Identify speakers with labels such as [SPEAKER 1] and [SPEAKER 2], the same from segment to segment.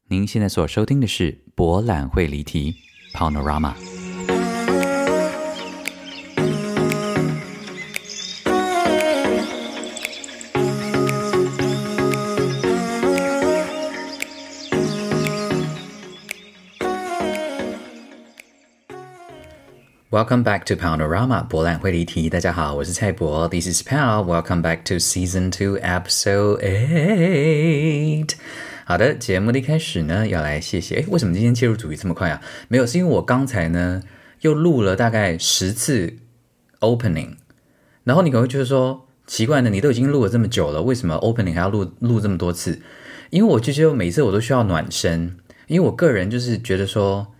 [SPEAKER 1] 您現在所收聽的是博覽會離題 Paonorama。Welcome back to Paonorama 博覽會離題。大家好，我是蔡博 This is Pao. Welcome back to Season 2 Episode 8。好的，節目的一開始呢，要來謝謝。為什麼今天切入主題這麼快啊？沒有，是因為我剛才呢又錄了大概10次 opening， 然後你可能會覺得說奇怪呢，你都已經錄了這麼久了，為什麼 opening 還要錄這麼多次？因為我就覺得每次我都需要暖身，因為我個人就是覺得說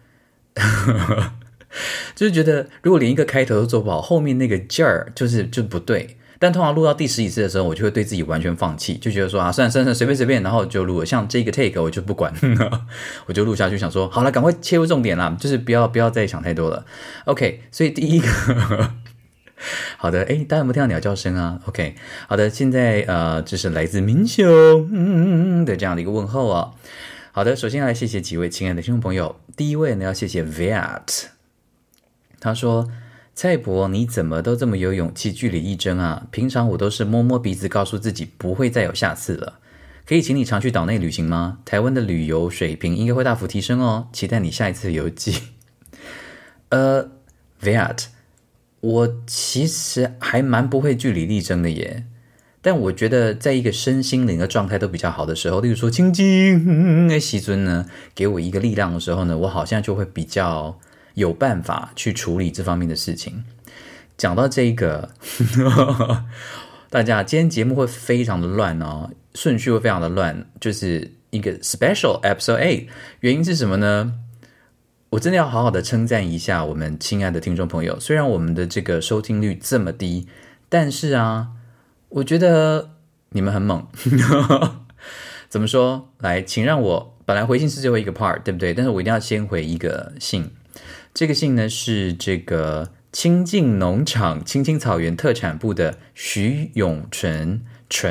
[SPEAKER 1] 就是覺得如果連一個開頭都做不好，後面那個勁兒就不對。但通常錄到第10幾次的時候，我就會對自己完全放棄，就覺得說啊，算了，隨便，然後就錄了。像這個 take 我就不管，我就錄下去，想說好了，趕快切入重點啦，就是不要再想太多了。OK， 所以第一個好的，大家有沒有聽到鳥叫聲啊 ？OK， 好的，現在這是來自民雄的這樣的一個問候啊。好的，首先要來謝謝幾位親愛的聽眾朋友。第一位呢，要謝謝 Viat， 他說。蔡博，你怎麼都這麼有勇氣據理力爭啊？平常我都是摸摸鼻子告訴自己不會再有下次了。可以請你常去島內旅行嗎？台灣的旅遊水平應該會大幅提升哦，期待你下一次遊記。Viat， 我其實還蠻不會據理力爭的耶，但我覺得在一個身心靈的狀態都比較好的時候，例如說清靜西尊呢，給我一個力量的時候呢，我好像就會比較有辦法去處理這方面的事情。講到這個大家今天節目會非常的亂哦，順序會非常的亂，就是一個 special episode 8。原因是什麼呢？我真的要好好的稱讚一下我們親愛的聽眾朋友，雖然我們的這個收聽率這麼低，但是啊，我覺得你們很猛。怎麼說？來，請讓我本來回信是最後一個 part， 對不對？但是我一定要先回一個信。這個信呢是這個清境農場青青草原特產部的徐永純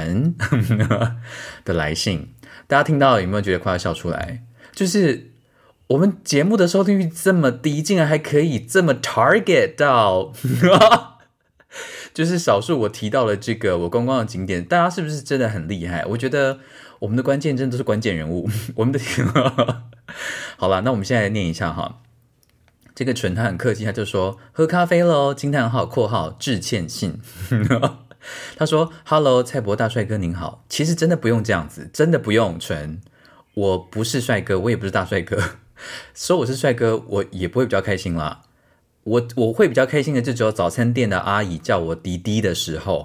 [SPEAKER 1] 的來信。大家聽到有沒有覺得快要笑出來？就是我們節目的收聽率這麼低，竟然還可以這麼 target 到就是少數我提到了這個我觀光的景點，大家是不是真的很厲害？我覺得我們的關鍵真的都是關鍵人物。我們的好了，那我們現在來念一下哈。這個純他很客氣，他就說喝咖啡咯，驚嘆號括號致歉信。他說 Hello 蔡博大帥哥您好，其實真的不用這樣子，真的不用純，我不是帥哥，我也不是大帥哥，說我是帥哥我也不會比較開心啦，我會比較開心的就只有早餐店的阿姨叫我弟弟的時候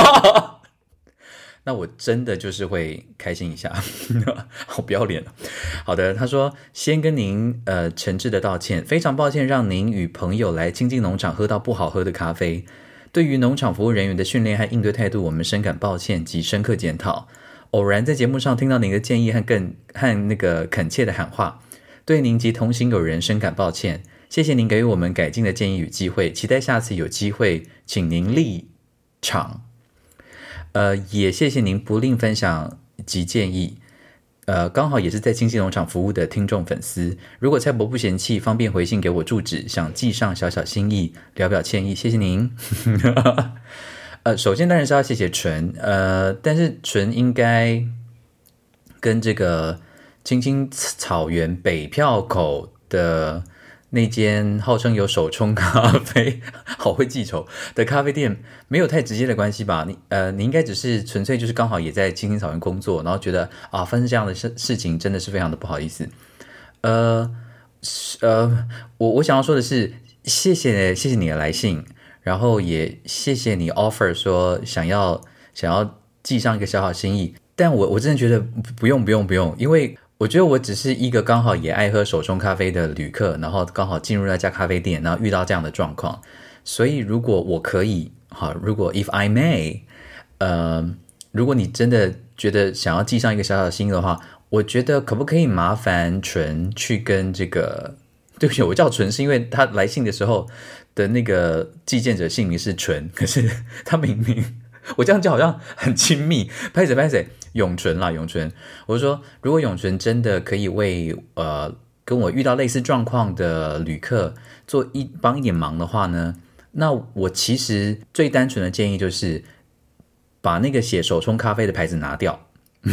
[SPEAKER 1] 那我真的就是會開心一下好不要臉。好的，他說先跟您誠摯的道歉，非常抱歉讓您與朋友來清境農場喝到不好喝的咖啡，對於農場服務人員的訓練和應對態度我們深感抱歉及深刻檢討。偶然在節目上聽到您的建議和那個懇切的喊話，對您及同行友人深感抱歉，謝謝您給予我們改進的建議與機會，期待下次有機會請您立場。也謝謝您不吝分享及建議，剛好也是在清境農場服務的聽眾粉絲，如果蔡博不嫌棄，方便回信給我住址，想寄上小小心意，聊表歉意，謝謝您。首先當然是要謝謝純，但是純應該跟這個青青草原北票口的那間號稱有手沖咖啡好會記仇的咖啡店沒有太直接的關係吧？你應該只是純粹就是剛好也在青青草原工作，然後覺得啊發生這樣的事情真的是非常的不好意思。我想要說的是謝謝你的來信，然後也謝謝你 offer 說想要寄上一個小小心意，但我真的覺得不用，因為我覺得我只是一個剛好也愛喝手冲咖啡的旅客，然後剛好進入那家咖啡店，然後遇到這樣的狀況，所以如果我可以，好，如果 if I may，如果你真的覺得想要寄上一個小小心意的話，我覺得可不可以麻煩純去跟這個，對不起，我叫純是因為他來信的時候的那個寄件者姓名是純，可是他明明我這樣就好像很親密，拍誰？永淳啦，永淳。我就說，如果永淳真的可以為跟我遇到類似狀況的旅客幫一點忙的話呢，那我其實最單純的建議就是把那個寫手沖咖啡的牌子拿掉，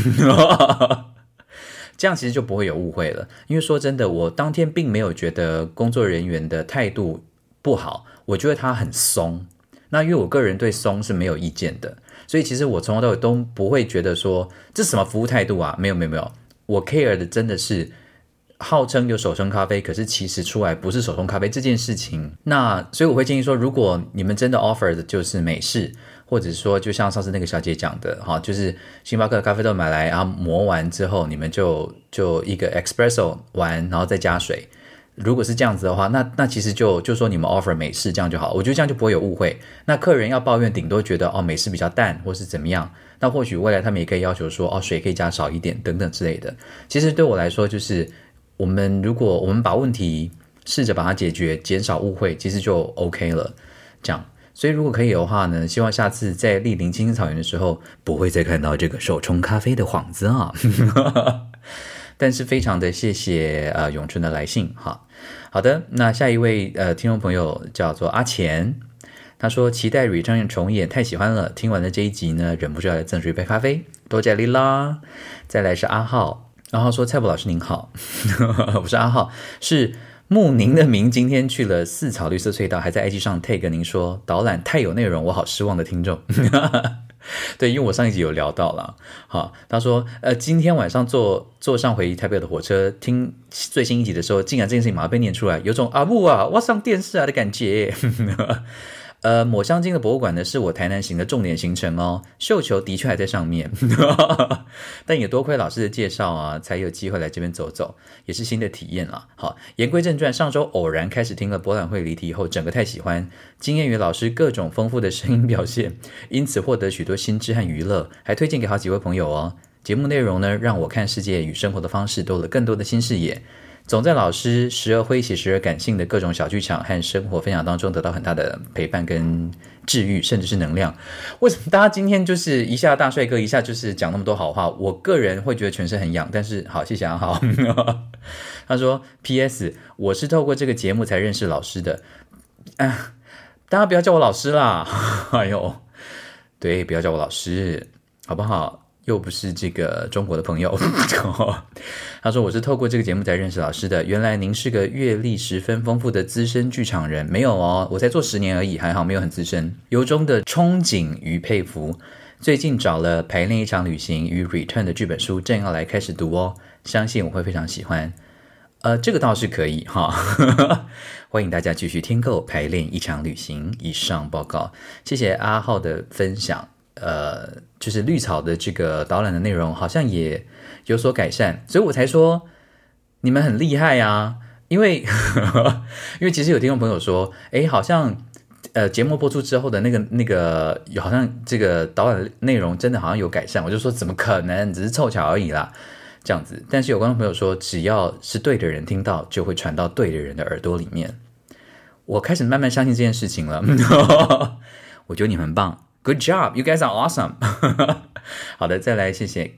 [SPEAKER 1] 這樣其實就不會有誤會了。因為說真的，我當天並沒有覺得工作人員的態度不好，我覺得他很鬆。那因為我個人對鬆是沒有意見的，所以其實我從頭到尾都不會覺得說這是什麼服務態度啊，沒有，我 care 的真的是號稱有手沖咖啡，可是其實出來不是手沖咖啡這件事情。那所以我會建議說，如果你們真的 offer 的就是美式，或者說就像上次那個小姐講的哈，就是星巴克的咖啡豆買來，然後磨完之後，你們就一個 espresso 完，然後再加水。如果是這樣子的話，那其實就說你們 offer 美式這樣就好，我覺得這樣就不會有誤會。那客人要抱怨，頂多覺得美式比較淡，或是怎麼樣。那或許未來他們也可以要求說水可以加少一點等等之類的。其實對我來說，就是如果我們把問題試着把它解決，減少誤會，其實就 OK 了。這樣，所以如果可以的話呢，希望下次在蒞臨青青草原的時候，不會再看到這個手沖咖啡的幌子啊。但是非常的謝謝永春的來信哈。好的，那下一位聽眾朋友叫做阿錢，他說期待 Return 重演，太喜歡了，聽完了這一集呢，忍不住要來贈出一杯咖啡，多謝你啦。再來是阿浩，阿浩說蔡博老師您好，我是阿浩，是慕您的名，今天去了四草綠色隧道，還在 IG 上 tag 您說導覽太有內容，我好失望的聽眾。對，因為我上一集有聊到了，好，他說今天晚上坐上回台北的火車，聽最新一集的時候，竟然這件事情馬上被念出來，有種阿木啊，我上電視啊的感覺。抹香鯨的博物館呢，是我台南行的重點行程哦。繡球的確還在上面，但也多虧老師的介紹啊，才有機會來這邊走走，也是新的體驗啦。好，言歸正傳，上周偶然開始聽了博覽會離題以後，整個太喜歡，驚豔於老師各種豐富的聲音表現，因此獲得許多新知和娛樂，還推薦給好幾位朋友哦。節目內容呢，讓我看世界與生活的方式多了更多的新視野。總在老師時而詼諧時而感性的各種小劇場和生活分享當中得到很大的陪伴跟治癒，甚至是能量。為什麼大家今天就是一下大帥哥，一下就是講那麼多好話？我個人會覺得全身很癢，但是好，謝謝阿浩。他說 PS 我是透過這個節目才認識老師的，大家不要叫我老師啦，哎呦，對，不要叫我老師好不好？又不是這個中國的朋友。他說我是透過這個節目才認識老師的，原來您是個閱歷十分豐富的資深劇場人。沒有哦，我才做10年而已，還好沒有很資深。由衷的憧憬與佩服，最近找了排練一場旅行與 Return 的劇本書，正要來開始讀哦，相信我會非常喜歡。這個倒是可以哈，歡迎大家繼續添購排練一場旅行。以上報告，謝謝阿浩的分享。就是綠草的這個導覽的內容好像也有所改善，所以我才說你們很厲害啊。因為其實有聽眾朋友說，好像節目播出之後的那個好像這個導覽內容真的好像有改善，我就說怎麼可能，只是湊巧而已啦，這樣子。但是有觀眾朋友說，只要是對的人聽到，就會傳到對的人的耳朵裡面。我開始慢慢相信這件事情了。我覺得你們很棒。Good job, you guys are awesome. 好的，再來謝謝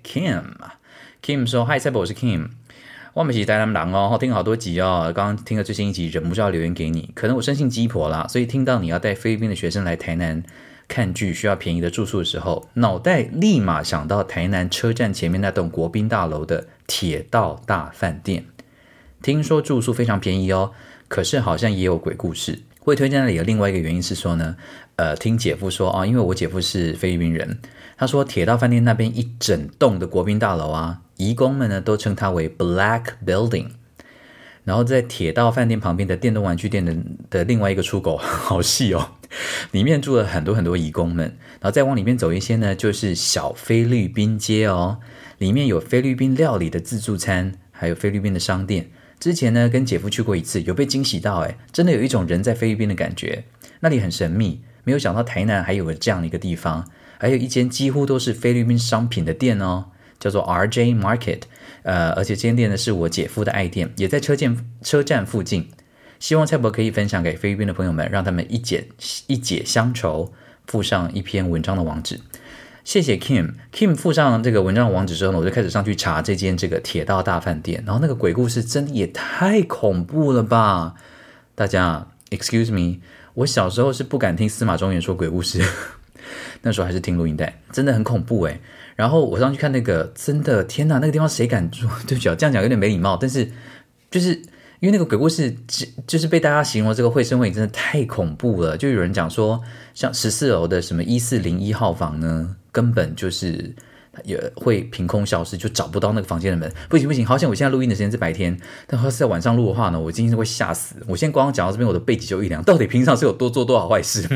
[SPEAKER 1] Kim 說 Hi 蔡博，我是 Kim， 我們是台南人哦，聽好多集哦，剛剛聽了最新一集，忍不住要留言給你。可能我生性雞婆啦，所以聽到你要帶菲律賓的學生來台南看劇，需要便宜的住宿的時候，腦袋立馬想到台南車站前面那棟國賓大樓的鐵道大飯店。聽說住宿非常便宜哦，可是好像也有鬼故事。會推薦那裡的另外一個原因是說呢，聽姐夫說啊，因為我姐夫是菲律賓人，他說鐵道飯店那邊一整棟的國賓大樓啊，移工們呢都稱它為 Black Building。然後在鐵道飯店旁邊的電動玩具店的另外一個出口，好細哦，裡面住了很多很多移工們。然後再往裡面走一些呢，就是小菲律賓街哦，裡面有菲律賓料理的自助餐，還有菲律賓的商店。之前呢，跟姐夫去過一次，有被驚喜到，真的有一種人在菲律賓的感覺。那裡很神秘，沒有想到台南還有這樣的一個地方，還有一間幾乎都是菲律賓商品的店哦，叫做 RJ Market。而且這間店呢是我姐夫的愛店，也在車站附近。希望蔡博可以分享給菲律賓的朋友們，讓他們一解鄉愁， 附上一篇文章的網址。謝謝 Kim 附上這個文章的網址之後呢，我就開始上去查這間這個鐵道大飯店，然後那個鬼故事真的也太恐怖了吧！大家 excuse me， 我小時候是不敢聽司馬中原說鬼故事，那時候還是聽錄音帶，真的很恐怖誒。然後我上去看那個，真的天哪，那個地方誰敢住？對不起啊，這樣講有點沒禮貌，但是就是因為那個鬼故事就是被大家形容這個會聲會影真的太恐怖了，就有人講說像14樓的什麼1401號房呢，根本就是也會憑空消失，就找不到那個房間的門。不行，好像我現在錄音的時間是白天，但要是在晚上錄的話呢，我今天是會嚇死。我現在光講到這邊，我的背脊就一涼，到底平常是有多做多少壞事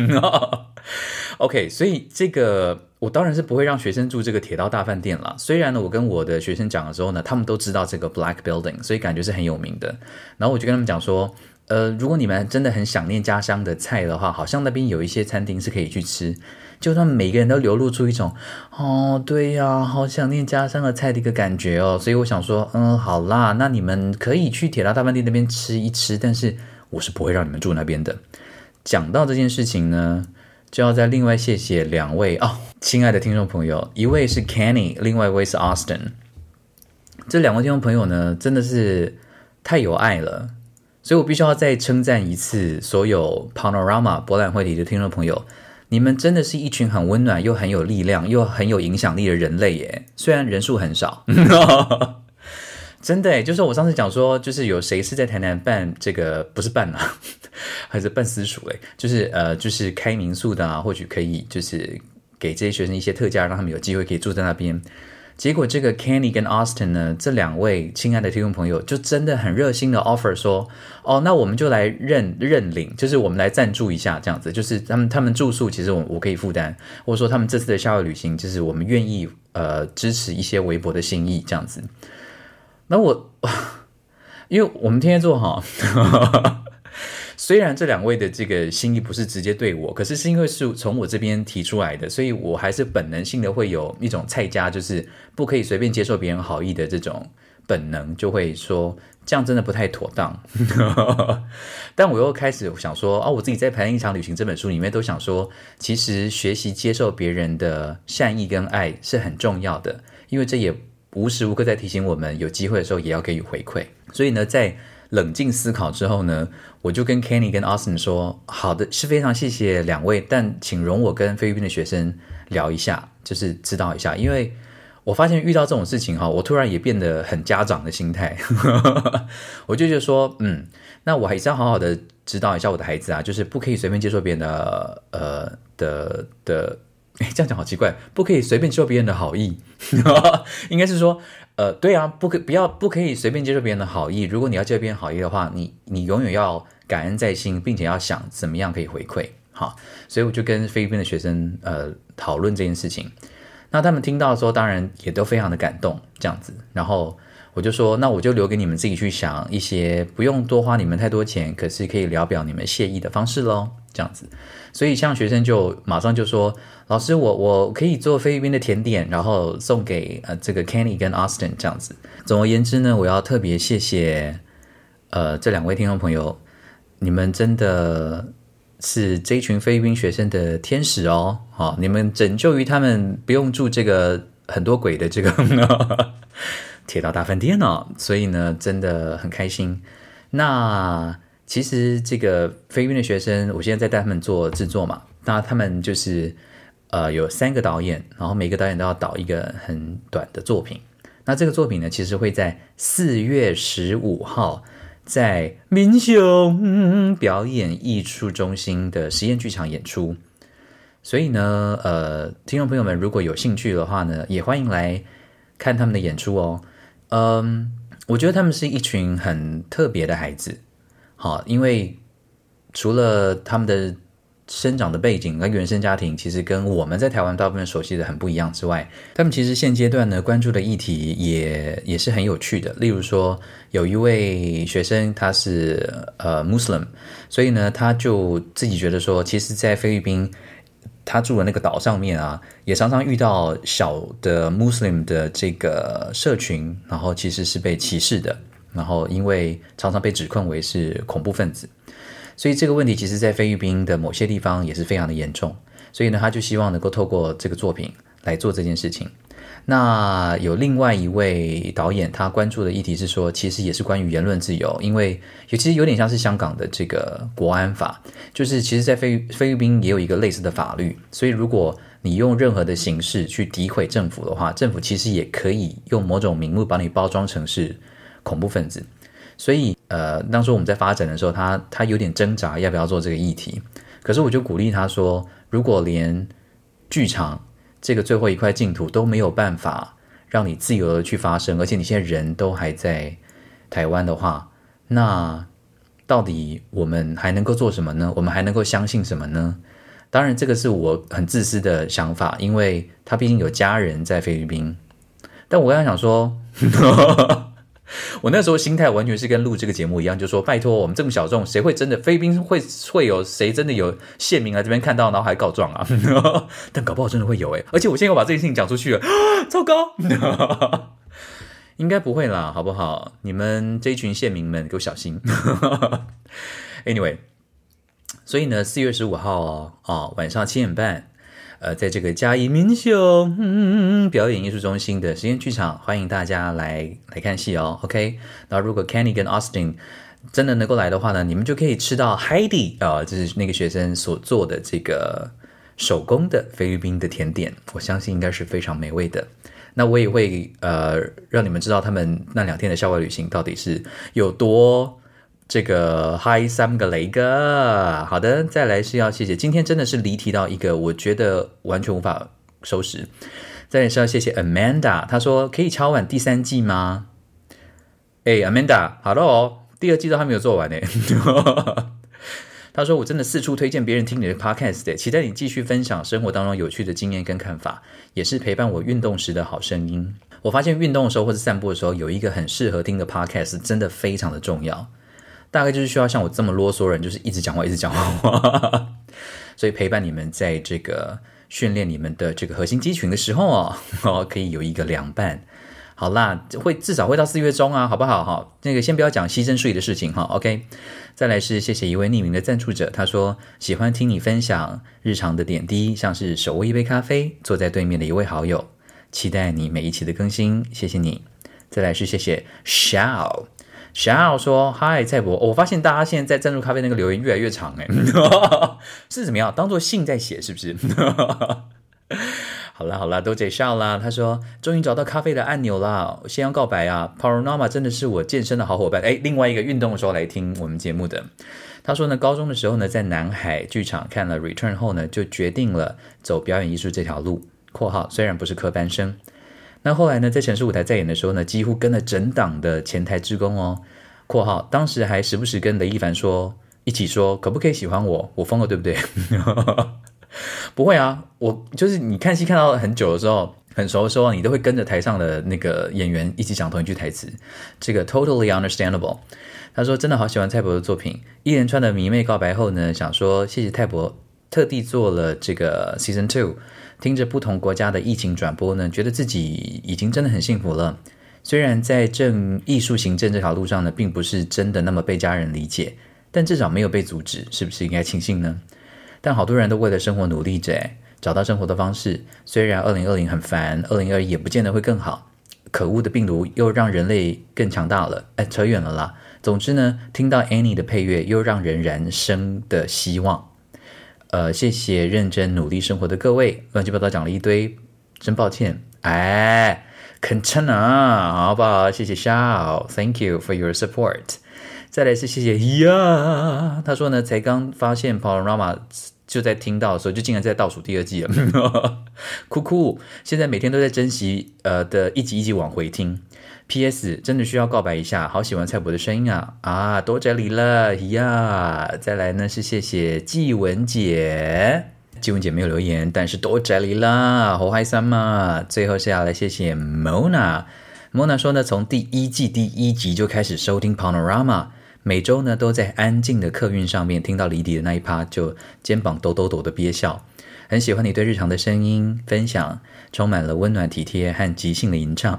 [SPEAKER 1] ？OK， 所以這個我當然是不會讓學生住這個鐵道大飯店啦。雖然呢，我跟我的學生講的時候呢，他們都知道這個 Black Building， 所以感覺是很有名的。然後我就跟他們講說，如果你們真的很想念家鄉的菜的話，好像那邊有一些餐廳是可以去吃。就他們每個人都流露出一種對呀，好想念家鄉的菜的一個感覺哦。所以我想說，好啦，那你們可以去鐵道大飯店那邊吃一吃，但是我是不會讓你們住那邊的。講到這件事情呢，就要再另外謝謝兩位親愛的聽眾朋友，一位是 Kenny， 另外一位是 Austin。這兩位聽眾朋友呢，真的是太有愛了，所以我必須要再稱讚一次所有 Panorama 博覽會裡的聽眾朋友，你們真的是一群很溫暖又很有力量又很有影響力的人類耶，雖然人數很少。真的耶，就是我上次講說，就是有誰是在台南辦這個，不是辦啊，還是辦私塾誒，就是開民宿的啊，或許可以就是給這些學生一些特價，讓他們有機會可以住在那邊。結果這個 Kenny 跟 Austin 呢，這兩位親愛的聽眾朋友就真的很熱心的 offer 說，那我們就來認領，就是我們來贊助一下這樣子，就是他們住宿其實我可以負擔，或者說他們這次的校外旅行，就是我們願意支持一些微薄的心意這樣子。那因為我們天天做好，雖然這兩位的這個心意不是直接對我，可是因為是從我這邊提出來的，所以我還是本能性的會有一種菜家，就是不可以隨便接受別人好意的這種本能，就會說這樣真的不太妥當。但我又開始想說，我自己在《排練一場旅行》這本書裡面都想說，其實學習接受別人的善意跟愛是很重要的，因為這也無時無刻在提醒我們，有機會的時候也要給予回饋。所以呢，在冷靜思考之後呢，我就跟 Kenny 跟 Austin 說，好的，是非常謝謝兩位，但請容我跟菲律賓的學生聊一下，就是知道一下，因為我發現遇到這種事情我突然也變得很家長的心態。我就覺得說，那我還是要好好的指導一下我的孩子啊，就是不可以隨便接受別人的這樣講好奇怪，不可以隨便接受別人的好意。應該是說對啊，不可以隨便接受別人的好意。如果你要接受別人好意的話，你永遠要感恩在心，並且要想怎麼樣可以回饋。好，所以我就跟菲律賓的學生討論這件事情。那他們聽到的時候，當然也都非常的感動，這樣子。然後我就說，那我就留給你們自己去想一些不用多花你們太多錢，可是可以聊表你們謝意的方式咯，這樣子。所以像學生就馬上就說，老師我可以做菲律賓的甜點，然後送給這個 Kenny 跟 Austin 這樣子。總而言之呢，我要特別謝謝這兩位聽眾朋友，你們真的是這一群菲律賓學生的天使哦。好，你們拯救於他們不用住這個很多鬼的這個鐵道大飯店哦，所以呢真的很開心。那其實這個菲律賓的學生，我現在在帶他們做製作嘛，那他們就是有3個導演，然後每個導演都要導一個很短的作品。那這個作品呢，其實會在4月15號在民雄表演藝術中心的實驗劇場演出。所以呢，聽眾朋友們如果有興趣的話呢，也歡迎來看他們的演出哦。我覺得他們是一群很特別的孩子。好，因為除了他們的生長的背景跟原生家庭其實跟我們在台灣大部分熟悉的很不一樣之外，他們其實現階段呢關注的議題也是很有趣的。例如說，有一位學生他是Muslim， 所以呢他就自己覺得說，其實在菲律賓他住的那個島上面啊，也常常遇到小的 Muslim 的這個社群，然後其實是被歧視的，然後因為常常被指控為是恐怖分子。所以這個問題其實在菲律賓的某些地方也是非常的嚴重。 所以呢，他就希望能夠透過這個作品來做這件事情。那有另外一位導演，他關注的議題是說，其實也是關於言論自由，因為其實有點像是香港的這個國安法，就是其實在菲律賓也有一個類似的法律，所以如果你用任何的形式去詆毀政府的話，政府其實也可以用某種名目把你包裝成是恐怖分子。所以當初我們在發展的時候，他有點掙扎要不要做這個議題，可是我就鼓勵他說，如果連劇場這個最後一塊淨土都沒有辦法讓你自由的去發聲，而且你現在人都還在台灣的話，那到底我們還能夠做什麼呢？我們還能夠相信什麼呢？當然這個是我很自私的想法，因為他畢竟有家人在菲律賓。但我剛才想說我那時候心態完全是跟錄這個節目一樣，就說拜託我們這麼小眾，誰會真的菲律賓會有誰真的有縣民來這邊看到然後還告狀啊但搞不好真的會有而且我現在又把這件事情講出去了糟糕應該不會啦，好不好？你們這一群縣民們給我小心Anyway， 所以呢4月15號晚上7點半在這個嘉義民雄表演藝術中心的實驗劇場，歡迎大家來看戲哦。OK， 然後如果 Kenny 跟 Austin 真的能夠來的話呢，你們就可以吃到 Heidi 就是那個學生所做的這個手工的菲律賓的甜點，我相信應該是非常美味的。那我也會讓你們知道他們那2天的校外旅行到底是有多這個嗨3個雷個。好的，再來是要謝謝，今天真的是離題到一個我覺得完全無法收拾。再來是要謝謝 Amanda， 她說可以敲碗第3季嗎？Amanda， 好了哦，第2季都還沒有做完呢。她說我真的四處推薦別人聽你的 podcast， 期待你繼續分享生活當中有趣的經驗跟看法，也是陪伴我運動時的好聲音。我發現運動的時候或者散步的時候，有一個很適合聽的 podcast 真的非常的重要。大概就是需要像我這麼囉嗦的人，就是一直講話一直講話所以陪伴你們在這個訓練你們的這個核心肌群的時候可以有一個良伴。好啦，至少會到4月中啊，好不好？那個先不要講犧牲稅的事情OK， 再來是謝謝一位匿名的贊助者，他說喜歡聽你分享日常的點滴，像是手握一杯咖啡，坐在對面的一位好友，期待你每一期的更新，謝謝你。再來是謝謝 Shao說嗨蔡博，我發現大家現在在贊助咖啡那個留言越來越長是怎麼樣？當作信在寫是不是？好啦，都解笑啦。他說終於找到咖啡的按鈕啦，先要告白啊 Panorama 真的是我健身的好夥伴。另外一個運動的時候來聽我們節目的。他說呢，高中的時候呢，在南海劇場看了 Return 後呢，就決定了走表演藝術這條路（括號雖然不是科班生）。那後來呢，在城市舞台在演的時候呢，幾乎跟了整檔的前台志工（括號當時還時不時跟雷一凡說，一起說可不可以喜歡我？我瘋了對不對？不會啊，我就是你看戲看到很久的時候，很熟的時候，你都會跟着台上的那個演員一起講同一句台詞，這個 totally understandable。他說真的好喜歡蔡博的作品，一連串的迷妹告白後呢，想說謝謝蔡博特地做了這個 Season 2，聽着不同國家的疫情轉播呢，覺得自己已經真的很幸福了。雖然在藝術行政這條路上呢，並不是真的那麼被家人理解，但至少沒有被阻止，是不是應該慶幸呢？但好多人都為了生活努力着，找到生活的方式。雖然2020很煩，2021也不見得會更好。可惡的病毒又讓人類更強大了。扯遠了啦。總之呢，聽到 Annie 的配樂，又讓人燃生的希望。謝謝認真努力生活的各位，亂七八糟講了一堆，真抱歉。肯稱啊，好不好？謝謝 Shao，Thank you for your support。再來是謝謝呀，他說呢，才剛發現 Panorama 就在聽到的時候，就竟然在倒數第2季了，酷酷！現在每天都在珍惜的一集一集往回聽。P.S. 真的需要告白一下，好喜歡蔡博的聲音啊！多謝你了呀！再來呢是謝謝季文姐。季文姐沒有留言，但是多謝你啦，好開心嘛！最後是要來謝謝 Mona 說呢，從第1季第1集就開始收聽 Panorama， 每周呢都在安靜的客運上面聽到離題的那一趴，就肩膀抖抖抖的憋笑。很喜歡你對日常的聲音分享，充滿了溫暖體貼和即興的吟唱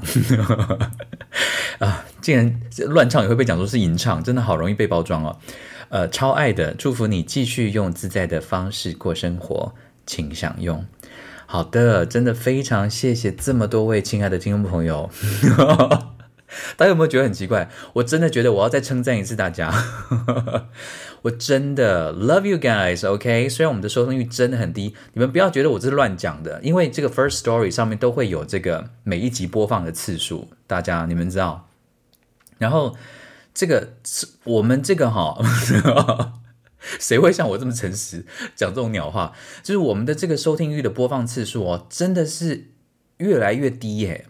[SPEAKER 1] 竟然亂唱也會被講說是吟唱，真的好容易被包裝哦。超愛的，祝福你繼續用自在的方式過生活， 請享用。好的，真的非常謝謝這麼多位親愛的聽眾朋友。大家有沒有覺得很奇怪？我真的覺得我要再稱讚一次大家。我真的 love you guys，OK？雖然我們的收聽率真的很低，你們不要覺得我這是亂講的，因為這個 First Story 上面都會有這個每一集播放的次數，大家你們知道。然後這個我們這個誰會像我這麼誠實講這種鳥話？就是我們的這個收聽率的播放次數哦，真的是越來越低耶。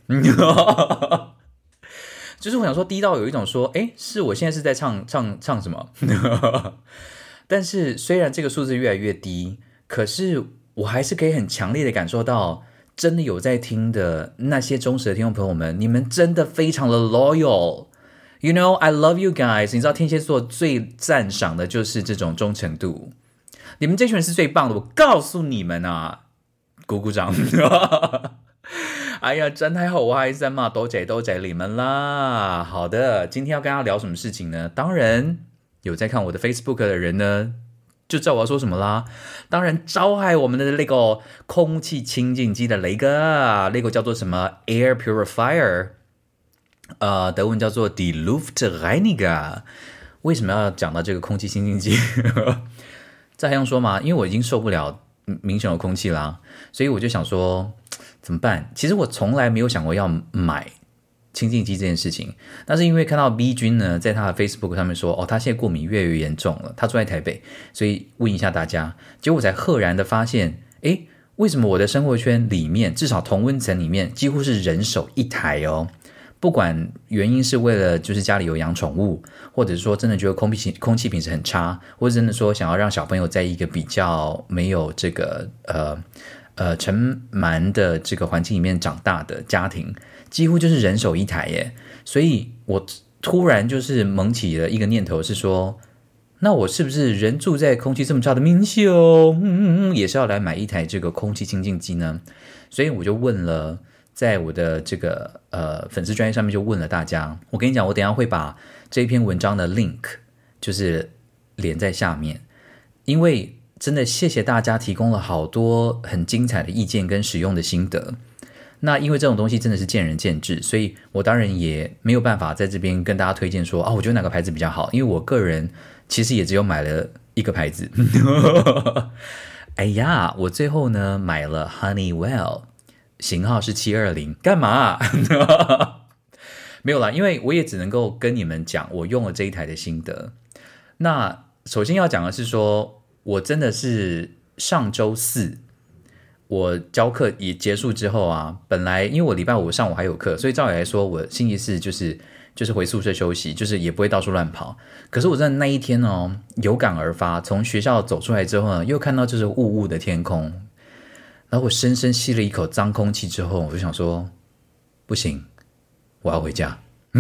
[SPEAKER 1] 就是我想說，低到有一種說，誒，是我現在是在唱什麼？但是雖然這個數字越來越低，可是我還是可以很強烈的感受到，真的有在聽的那些忠實的聽眾朋友們，你們真的非常的 loyal。You know, I love you guys。你知道天蠍座最讚賞的就是這種忠誠度，你們這群人是最棒的，我告訴你們啊，鼓鼓掌。哎呀，真太好，我還在罵多謝你們啦。好的，今天要跟大家聊什麼事情呢？當然有在看我的 Facebook 的人呢，就知道我要說什麼啦。當然，召喚我們的那個空氣清淨機的那個叫做什麼 Air Purifier。德文叫做 Die Luftreiniger。為什麼要講到這個空氣清淨機？這還用說嗎？因為我已經受不了明顯的空氣啦，所以我就想說怎麼辦？其實我從來沒有想過要買清淨機這件事情，但是因為看到 B 君呢在他的 Facebook 上面說，他現在過敏越來越嚴重了，他住在台北，所以問一下大家，結果我才赫然的發現，為什麼我的生活圈裡面，至少同溫層裡面幾乎是人手一台哦。不管原因是為了就是家裡有養寵物，或者是說真的覺得空氣品質很差，或者真的說想要讓小朋友在一個比較沒有這個塵蟎的這個環境裡面長大的家庭，幾乎就是人手一台耶。所以我突然就是萌起了一個念頭，是說，那我是不是人住在空氣這麼差的民宿，也是要來買一台這個空氣清淨機呢？所以我就問了。在我的這個粉絲專頁上面就問了大家，我跟你講，我等一下會把這篇文章的 link 就是連在下面，因為真的謝謝大家提供了好多很精彩的意見跟使用的心得。那因為這種東西真的是見仁見智，所以我當然也沒有辦法在這邊跟大家推薦說我覺得哪個牌子比較好，因為我個人其實也只有買了一個牌子。哎呀，我最後呢買了 Honeywell。型號是720，幹嘛？沒有啦，因為我也只能夠跟你們講我用了這一台的心得。那首先要講的是說，我真的是上周四我教課也結束之後啊，本來因為我禮拜五上午還有課，所以照理來說我星期四就是回宿舍休息，就是也不會到處亂跑。可是我真的那一天哦，有感而發，從學校走出來之後呢，又看到就是霧霧的天空。然後我深深吸了一口髒空氣之後，我就想說，不行，我要回家。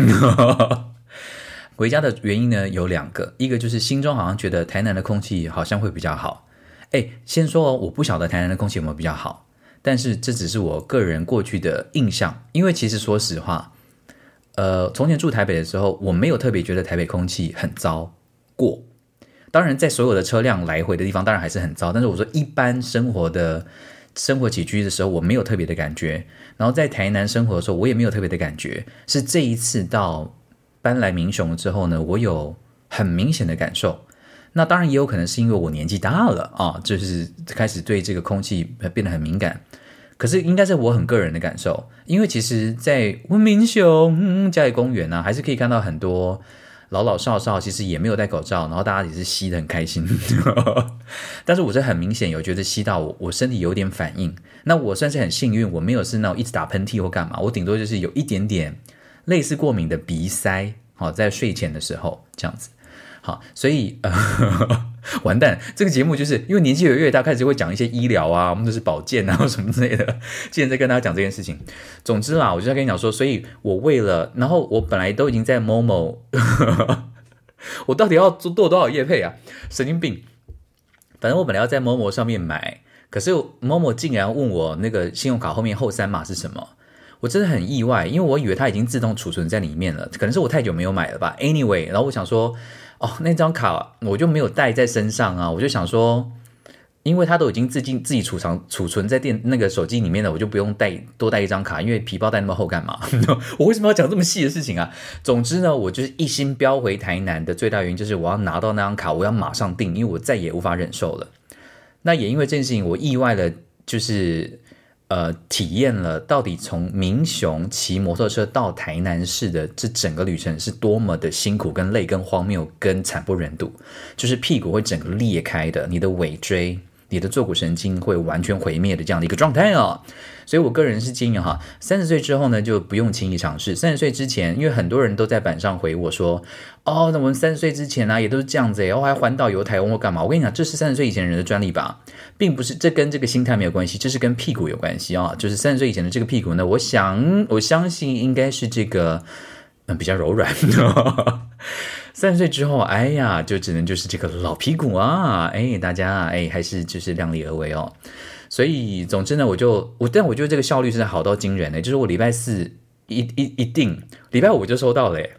[SPEAKER 1] 回家的原因呢有兩個，一個就是心中好像覺得台南的空氣好像會比較好。先說我不曉得台南的空氣有沒有比較好，但是這只是我個人過去的印象。因為其實說實話，從前住台北的時候，我沒有特別覺得台北空氣很糟過。當然，在所有的車輛來回的地方，當然還是很糟。但是我說一般生活起居的時候，我沒有特別的感覺。然後在台南生活的時候，我也沒有特別的感覺。是這一次到搬來民雄之後呢，我有很明顯的感受。那當然也有可能是因為我年紀大了啊，就是開始對這個空氣變得很敏感。可是應該是我很個人的感受，因為其實在民雄嘉義公園啊，還是可以看到很多老老少少，其實也沒有戴口罩，然後大家也是吸得很開心。但是我是很明顯有覺得吸到我身體有點反應。那我算是很幸運，我沒有是那種一直打噴嚏或幹嘛，我頂多就是有一點點類似過敏的鼻塞，在睡前的時候這樣子。好，所以完蛋，這個節目就是因為年紀越大，開始會講一些醫療啊，我們就是保健啊什麼之類的。既然在跟大家講這件事情，總之啦，我就在跟你講說，所以我為了，然後我本來都已經在 Momo， 我到底要做多少業配啊？神經病！反正我本來要在 Momo 上面買，可是 Momo 竟然問我那個信用卡後面後三碼是什麼。我真的很意外，因為我以為它已經自動儲存在裡面了，可能是我太久沒有買了吧。Anyway， 然後我想說，那張卡我就沒有帶在身上啊，我就想說， 因為它都已經自己儲存在那個手機裡面了，我就不用多帶一張卡，因為皮包帶那麼厚幹嘛？我為什麼要講這麼細的事情啊？總之呢，我就是一心飆回台南的最大原因就是我要拿到那張卡，我要馬上訂，因為我再也無法忍受了。那也因為這件事情，我意外的就是體驗了到底從民雄騎摩托車到台南市的這整個旅程是多麼的辛苦跟累跟荒謬跟慘不忍睹，就是屁股會整個裂開的，你的尾椎你的坐骨神經會完全毀滅的這樣的一個狀態哦。所以我個人是建議哈，30歲之後呢就不用輕易嘗試。30歲之前，因為很多人都在板上回我說，哦，那我們30歲之前啊也都是這樣子誒，還環島遊台灣或幹嘛？我跟你講，這是30歲以前人的專利吧，並不是，這跟這個心態沒有關係，這是跟屁股有關係啊。就是30歲以前的這個屁股呢，我相信應該是這個比較柔軟的。30歲之後，哎呀，就只能就是這個老屁股啊，哎，大家哎還是就是量力而為哦。所以總之呢，但我覺得這個效率是好到驚人的，就是我禮拜4一定，禮拜5就收到了耶，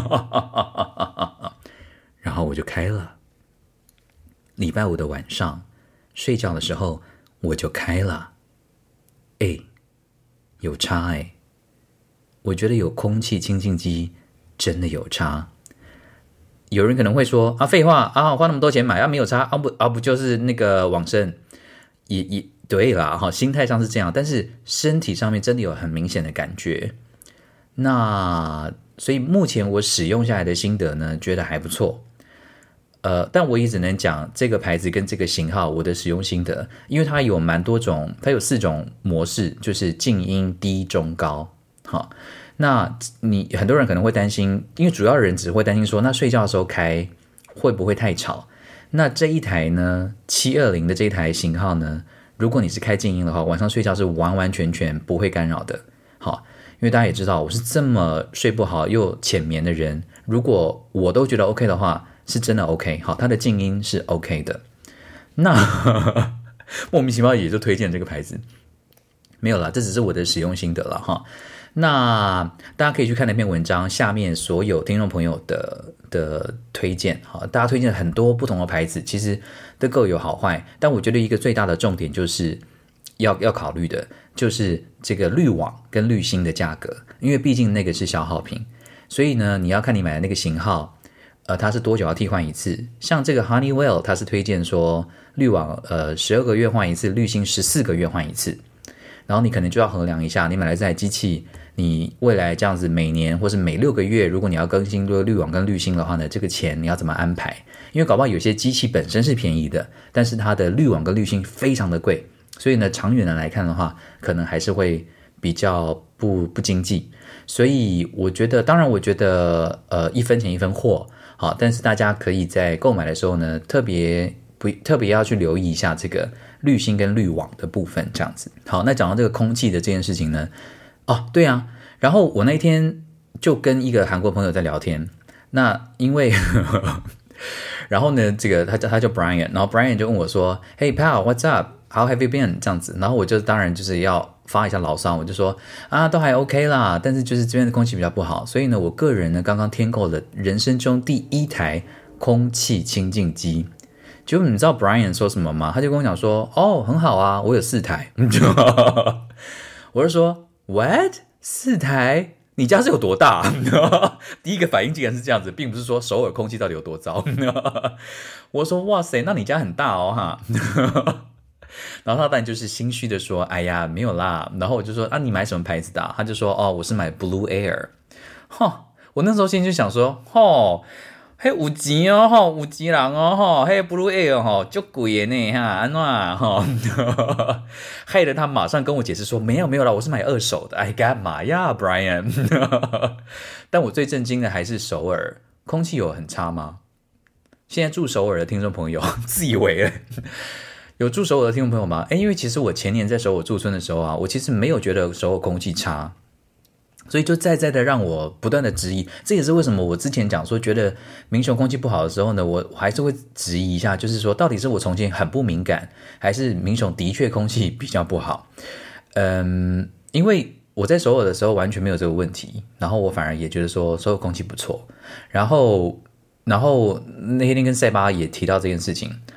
[SPEAKER 1] 然後我就開了。禮拜5的晚上睡覺的時候我就開了，哎，有差哎，我覺得有空氣清淨機真的有差。有人可能會說啊，廢話啊，花那麼多錢買啊，沒有差啊不就是那個往生？也對啦，哈，心態上是這樣，但是身體上面真的有很明顯的感覺。那所以目前我使用下來的心得呢，覺得還不錯。但我也只能講這個牌子跟這個型號我的使用心得，因為它有蠻多種，它有4種模式，就是靜音、低、中、高。好，那你很多人可能會擔心，因為主要人只會擔心說，那睡覺的時候開會不會太吵？那這一台呢，720的這一台型號呢，如果你是開靜音的話，晚上睡覺是完完全全不會干擾的。好，因為大家也知道我是這麼睡不好又淺眠的人，如果我都覺得 OK 的話，是真的 OK。好，它的靜音是 OK 的。那莫名其妙也就推薦這個牌子，沒有啦，這只是我的使用心得了哈。那大家可以去看那篇文章，下面所有聽眾朋友的推薦，好，大家推薦很多不同的牌子，其實都各有好壞，但我覺得一個最大的重點就是要考慮的，就是這個濾網跟濾芯的價格，因為畢竟那個是消耗品，所以呢，你要看你買的那個型號，它是多久要替換一次？像這個 Honeywell， 它是推薦說濾網12個月換一次，濾芯14個月換一次，然後你可能就要衡量一下，你買來這台機器，你未來這樣子每年或是每6個月，如果你要更新這個濾網跟濾芯的話呢，這個錢你要怎麼安排？因為搞不好有些機器本身是便宜的，但是它的濾網跟濾芯非常的貴，所以呢，長遠的來看的話，可能還是會比較不經濟。所以我覺得，當然我覺得一分錢一分貨，好，但是大家可以在購買的時候呢，特別要去留意一下這個濾芯跟濾網的部分，這樣子。好，那講到這個空氣的這件事情呢，哦，對啊，然後我那天就跟一個韓國朋友在聊天，那因為然後呢，這個他叫 Brian， 然後 Brian 就問我說 ，Hey pal, what's up? How have you been? 這樣子，然後我就當然就是要發一下牢騷，我就說啊，都還 OK 啦，但是就是這邊的空氣比較不好，所以呢，我個人呢剛剛添購了人生中第1台空氣清淨機。結果你知道 Brian 說什麼嗎？他就跟我講說，哦，很好啊，我有4台。我就說 What? 4台？你家是有多大？第一個反應竟然是這樣子，並不是說首爾空氣到底有多糟。我說哇塞，那你家很大哦哈。然後他當然就是心虛的說，哎呀沒有啦。然後我就說啊，你買什麼牌子的？他就說哦，我是買 Blue Air。我那時候心裡就想說，嘿有錢哦，有錢人哦，嘿 Blue Air 很貴的呢哈，安怎害得他馬上跟我解釋說沒有啦，我是買2手的。哎，幹嘛呀 ，Brian？ 但我最震驚的還是首爾空氣有很差嗎？現在住首爾的聽眾朋友自以為有住首爾的聽眾朋友嗎？因為其實我前年在首爾駐村的時候啊，我其實沒有覺得首爾空氣差。所以就在的讓我不斷的質疑，這也是為什麼我之前講說覺得民雄空氣不好的時候呢，我還是會質疑一下，就是說到底是我重慶很不敏感，還是民雄的確空氣比較不好？因為我在首爾的時候完全沒有這個問題，然後我反而也覺得說首爾空氣不錯，然後那天跟塞巴也提到這件事情，然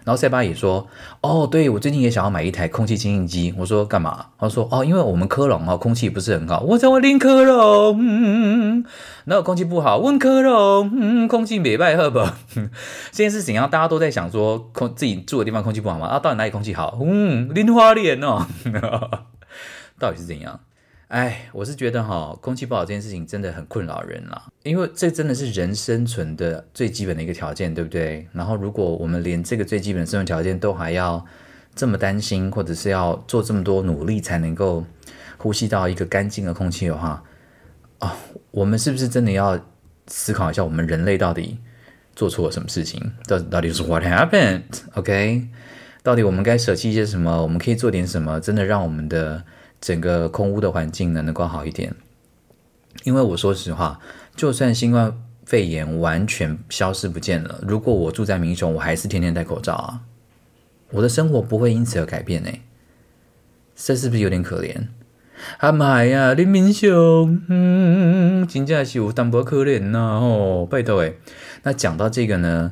[SPEAKER 1] 然後塞巴也說，哦，對，我最近也想要買一台空氣清淨機。我說幹嘛？他說，哦，因為我們科隆空氣不是很好。我在我林科隆，然後空氣不好，問科隆，空氣沒敗好不好？這件事情大家都在想說，自己住的地方空氣不好嗎？到底哪裡空氣好？林花蓮哦，到底是怎樣？哎，我是覺得空氣不好這件事情真的很困擾人啦，因為這真的是人生存的最基本的一個條件，對不對？然後如果我們連這個最基本的生存條件都還要這麼擔心，或者是要做這麼多努力才能夠呼吸到一個乾淨的空氣的話，我們是不是真的要思考一下，我們人類到底做錯了什麼事情？到底是 what happened？OK？到底我們該捨棄一些什麼？我們可以做點什麼？真的讓我們的整個空污的環境呢能夠好一點。因為我說實話，就算新冠肺炎完全消失不見了，如果我住在民雄，我還是天天戴口罩啊，我的生活不會因此而改變欸，這是不是有點可憐？媽呀，你民雄，真的是有淡薄可憐吶，拜託欸。那講到這個呢，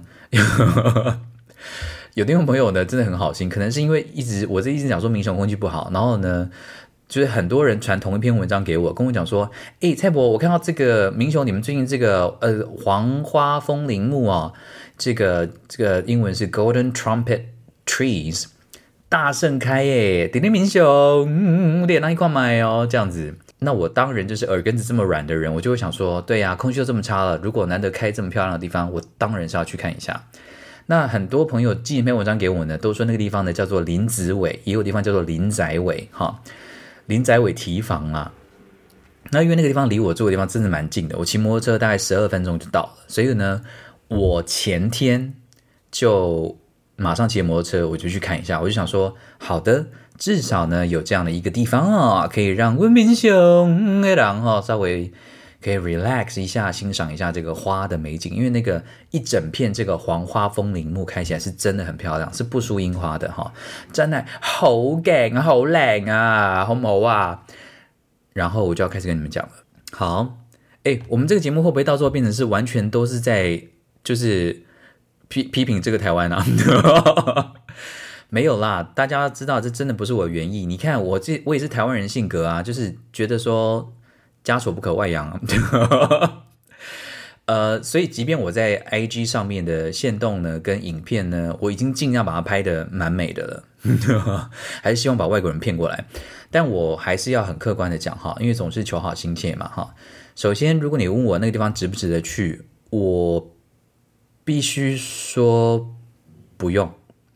[SPEAKER 1] 有聽眾朋友呢真的很好心，可能是因為我一直講說民雄空氣不好，然後呢，就是很多人傳同一篇文章給我，跟我講說，蔡伯，我看到這個民雄你們最近這個黃花風鈴木啊，這個英文是 Golden Trumpet Trees 大盛開耶，點點民雄，臉那一塊買哦，這樣子。那我當然就是耳根子這麼軟的人，我就會想說，對呀，空氣都這麼差了，如果難得開這麼漂亮的地方，我當然是要去看一下。那很多朋友寄一篇文章給我呢，都說那個地方呢叫做林子尾，也有地方叫做林仔尾哈，林仔尾堤防啊。那因為那個地方離我住的地方真的蠻近的，我騎摩托車大概12分鐘就到了，所以呢，我前天就馬上騎摩托車我就去看一下，我就想說，好的，至少呢有這樣的一個地方啊，可以讓文民雄的人稍微可以 relax 一下，欣賞一下這個花的美景，因為那個一整片這個黃花風鈴木開起來是真的很漂亮，是不輸櫻花的哈，真的好勁好靚啊，好唔好啊？然後我就要開始跟你們講了。好，我們這個節目會不會到時候變成是完全都是在就是批評這個台灣啊？沒有啦，大家知道這真的不是我的原意。你看我也是台灣人性格啊，就是覺得說家醜不可外揚所以即便我在 IG 上面的限動呢跟影片呢，我已經盡量把它拍得蠻美的了還是希望把外國人騙過來，但我還是要很客觀的講哈，因為總是求好心切嘛哈。首先如果你問我那個地方值不值得去，我必須說不用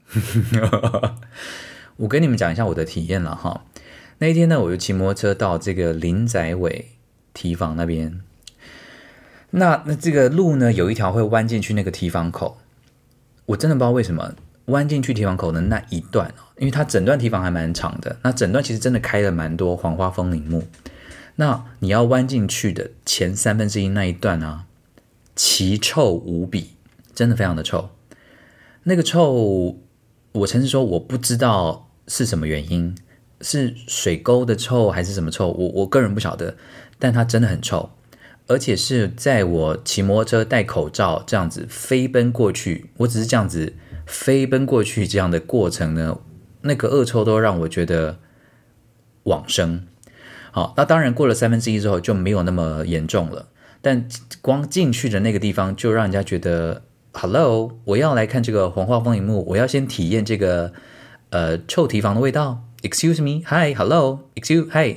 [SPEAKER 1] 我跟你們講一下我的體驗了哈。那一天呢，我就騎摩托車到這個林仔尾堤防那邊，那這個路呢有一條會彎進去那個堤防口，我真的不知道為什麼彎進去堤防口的那一段，因為它整段堤防還蠻長的，那整段其實真的開了蠻多黃花風鈴木，那你要彎進去的前1/3那一段啊，奇臭無比，真的非常的臭。那個臭，我誠實說我不知道是什麼原因，是水溝的臭還是什麼臭，我個人不曉得，但它真的很臭，而且是在我騎摩托車戴口罩這樣子飛奔過去，我只是這樣子飛奔過去這樣的過程呢，那個惡臭都讓我覺得往生。好，那當然過了1/3之後就沒有那麼嚴重了，但光進去的那個地方就讓人家覺得 Hello， 我要來看這個黃花風鈴木，我要先體驗這個臭堤防的味道。Excuse me, hi, hello, excuse, hi，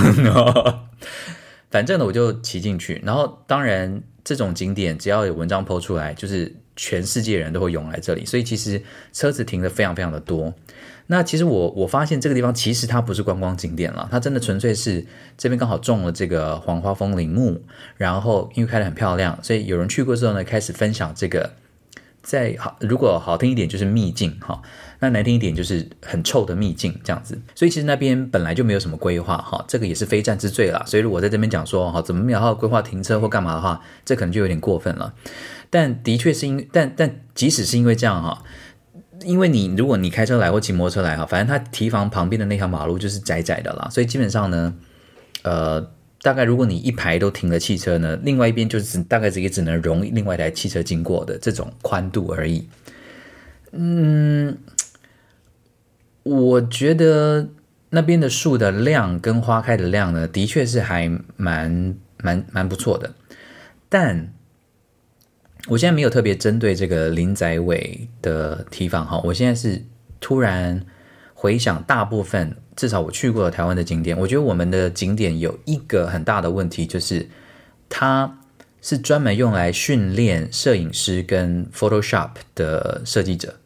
[SPEAKER 1] 反正呢我就騎進去，然後當然這種景點只要有文章 po 出來，就是全世界人都會湧來這裡，所以其實車子停得非常非常的多。那其實我發現這個地方其實它不是觀光景點了，它真的純粹是這邊剛好種了這個黃花風鈴木，然後因為開得很漂亮，所以有人去過之後呢，開始分享這個，如果好聽一點就是秘境哈，那難聽一點就是很臭的秘境這樣子。所以其實那邊本來就沒有什麼規劃哈，這個也是非戰之罪啦。所以如果在這邊講說哈，怎麼沒有好好規劃停車或幹嘛的話，這可能就有點過分了。但的確是但即使是因為這樣哈，因為如果你開車來或騎摩托車來哈，反正它堤防旁邊的那條馬路就是窄窄的啦，所以基本上呢，大概如果你一排都停了汽車呢，另外一邊就是大概也只能容另外一台汽車經過的這種寬度而已。 我覺得那邊的樹的量跟花開的量呢，的確是還蠻不錯的。但我現在沒有特別針對這個林仔尾的堤防哈，我現在是突然回想大部分，至少我去過的台灣的景點，我覺得我們的景點有一個很大的問題，就是它是專門用來訓練攝影師跟 Photoshop 的設計者。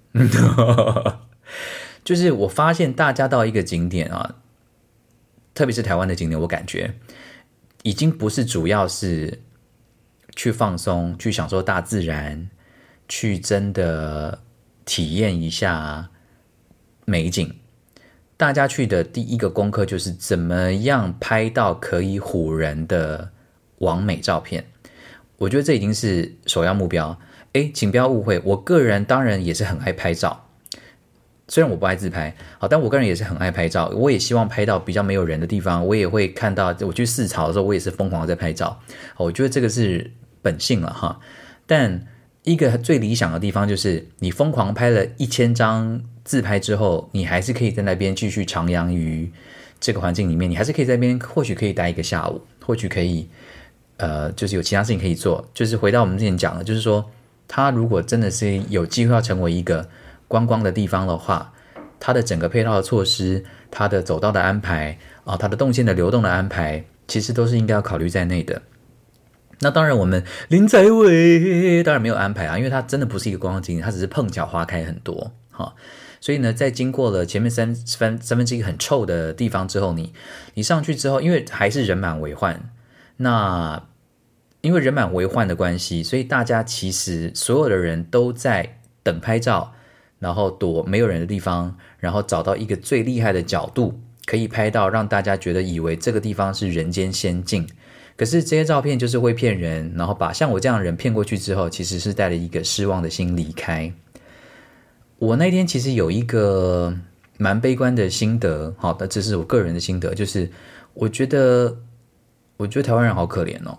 [SPEAKER 1] 就是我發現大家到一個景點啊，特別是台灣的景點，我感覺已經不是主要是去放鬆、去享受大自然、去真的體驗一下美景。大家去的第一個功課就是怎麼樣拍到可以唬人的網美照片。我覺得這已經是首要目標。請不要誤會，我個人當然也是很愛拍照。雖然我不愛自拍，好，但我個人也是很愛拍照。我也希望拍到比較沒有人的地方，我也會看到。我去四草的時候，我也是瘋狂的在拍照。我覺得這個是本性了哈。但一個最理想的地方就是，你瘋狂拍了1000張自拍之後，你還是可以在那邊繼續徜徉於這個環境裡面，你還是可以在那邊，或許可以待一個下午，或許可以就是有其他事情可以做。就是回到我們之前講的，就是說，它如果真的是有機會要成為一個觀光的地方的話，它的整個配套的措施，它的走道的安排啊，它的動線的流動的安排，其實都是應該要考慮在內的。那當然，我們林仔尾當然沒有安排啊，因為它真的不是一個觀光景點，它只是碰巧花開很多哈。所以呢，在經過了前面三分之一很臭的地方之後，你上去之後，因為還是人滿為患，那因為人滿為患的關係，所以大家其實所有的人都在等拍照。然後躲沒有人的地方，然後找到一個最厲害的角度，可以拍到讓大家覺得以為這個地方是人間仙境。可是這些照片就是會騙人，然後把像我這樣的人騙過去之後，其實是帶着一個失望的心離開。我那天其實有一個蠻悲觀的心得，好的，這是我個人的心得，就是我覺得台灣人好可憐哦。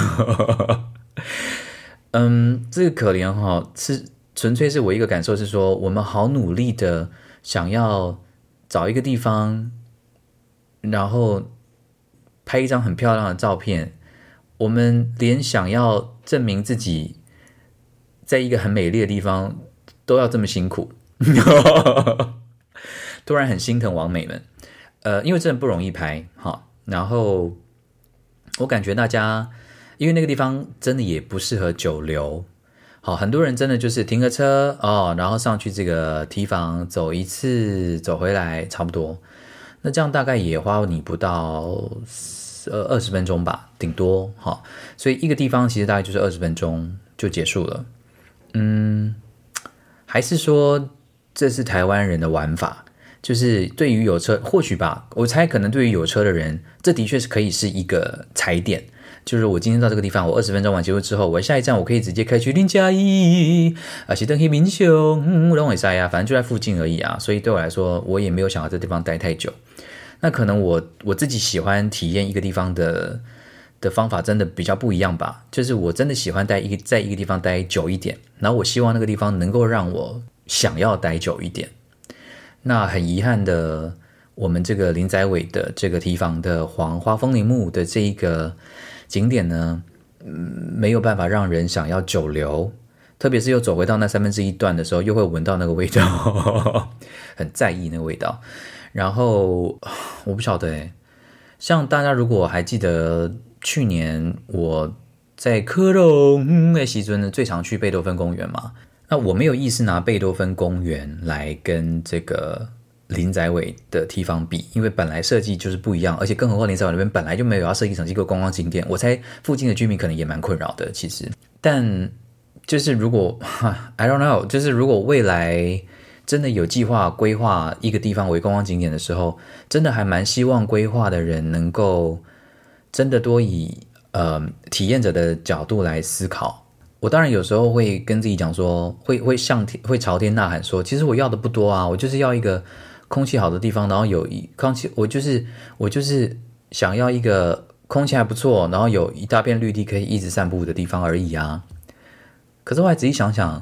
[SPEAKER 1] 這個可憐是。純粹是我一個感受是說，我們好努力的想要找一個地方，然後拍一張很漂亮的照片。我們連想要證明自己在一個很美麗的地方都要這麼辛苦，突然很心疼網美們。因為真的不容易拍，然後我感覺大家，因為那個地方真的也不適合久留。好，很多人真的就是停個車然後上去這個堤防走一次，走回來差不多。那這樣大概也花你不到20分鐘吧，頂多。所以一個地方其實大概就是20分鐘就結束了。還是說這是台灣人的玩法？就是對於有車，或許吧，我猜可能對於有車的人，這的確是可以是一個踩點。就是我今天到這個地方，我20分鐘完結束之後，我下一站我可以直接開去林嘉義是登去民雄，我都會塞啊，反正就在附近而已啊。所以對我來說，我也沒有想要在這地方待太久。那可能我自己喜歡體驗一個地方的方法真的比較不一樣吧。就是我真的喜歡在一個地方待久一點，然後我希望那個地方能夠讓我想要待久一點。那很遺憾的，我們這個林仔尾的這個堤防的黃花風鈴木的這一個景點呢，沒有辦法讓人想要久留，特別是又走回到那1/3段的時候，又會聞到那個味道，很在意那個味道。然後我不曉得像大家如果還記得去年我在科隆那時候呢，最常去貝多芬公園嘛，那我沒有意思拿貝多芬公園來跟這個林仔尾的堤防比，因為本來設計就是不一樣，而且更何況林仔尾那邊本來就沒有要設計成一個觀光景點，我猜附近的居民可能也蠻困擾的。其實，但就是如果 I don't know， 就是如果未來真的有計劃規劃一個地方為觀光景點的時候，真的還蠻希望規劃的人能夠真的多以體驗者的角度來思考。我當然有時候會跟自己講說，會朝天吶喊說，其實我要的不多啊，我就是要一個空氣好的地方，然後有空氣，我就是想要一個空氣還不錯，然後有一大片綠地可以一直散步的地方而已啊。可是我還仔細想想，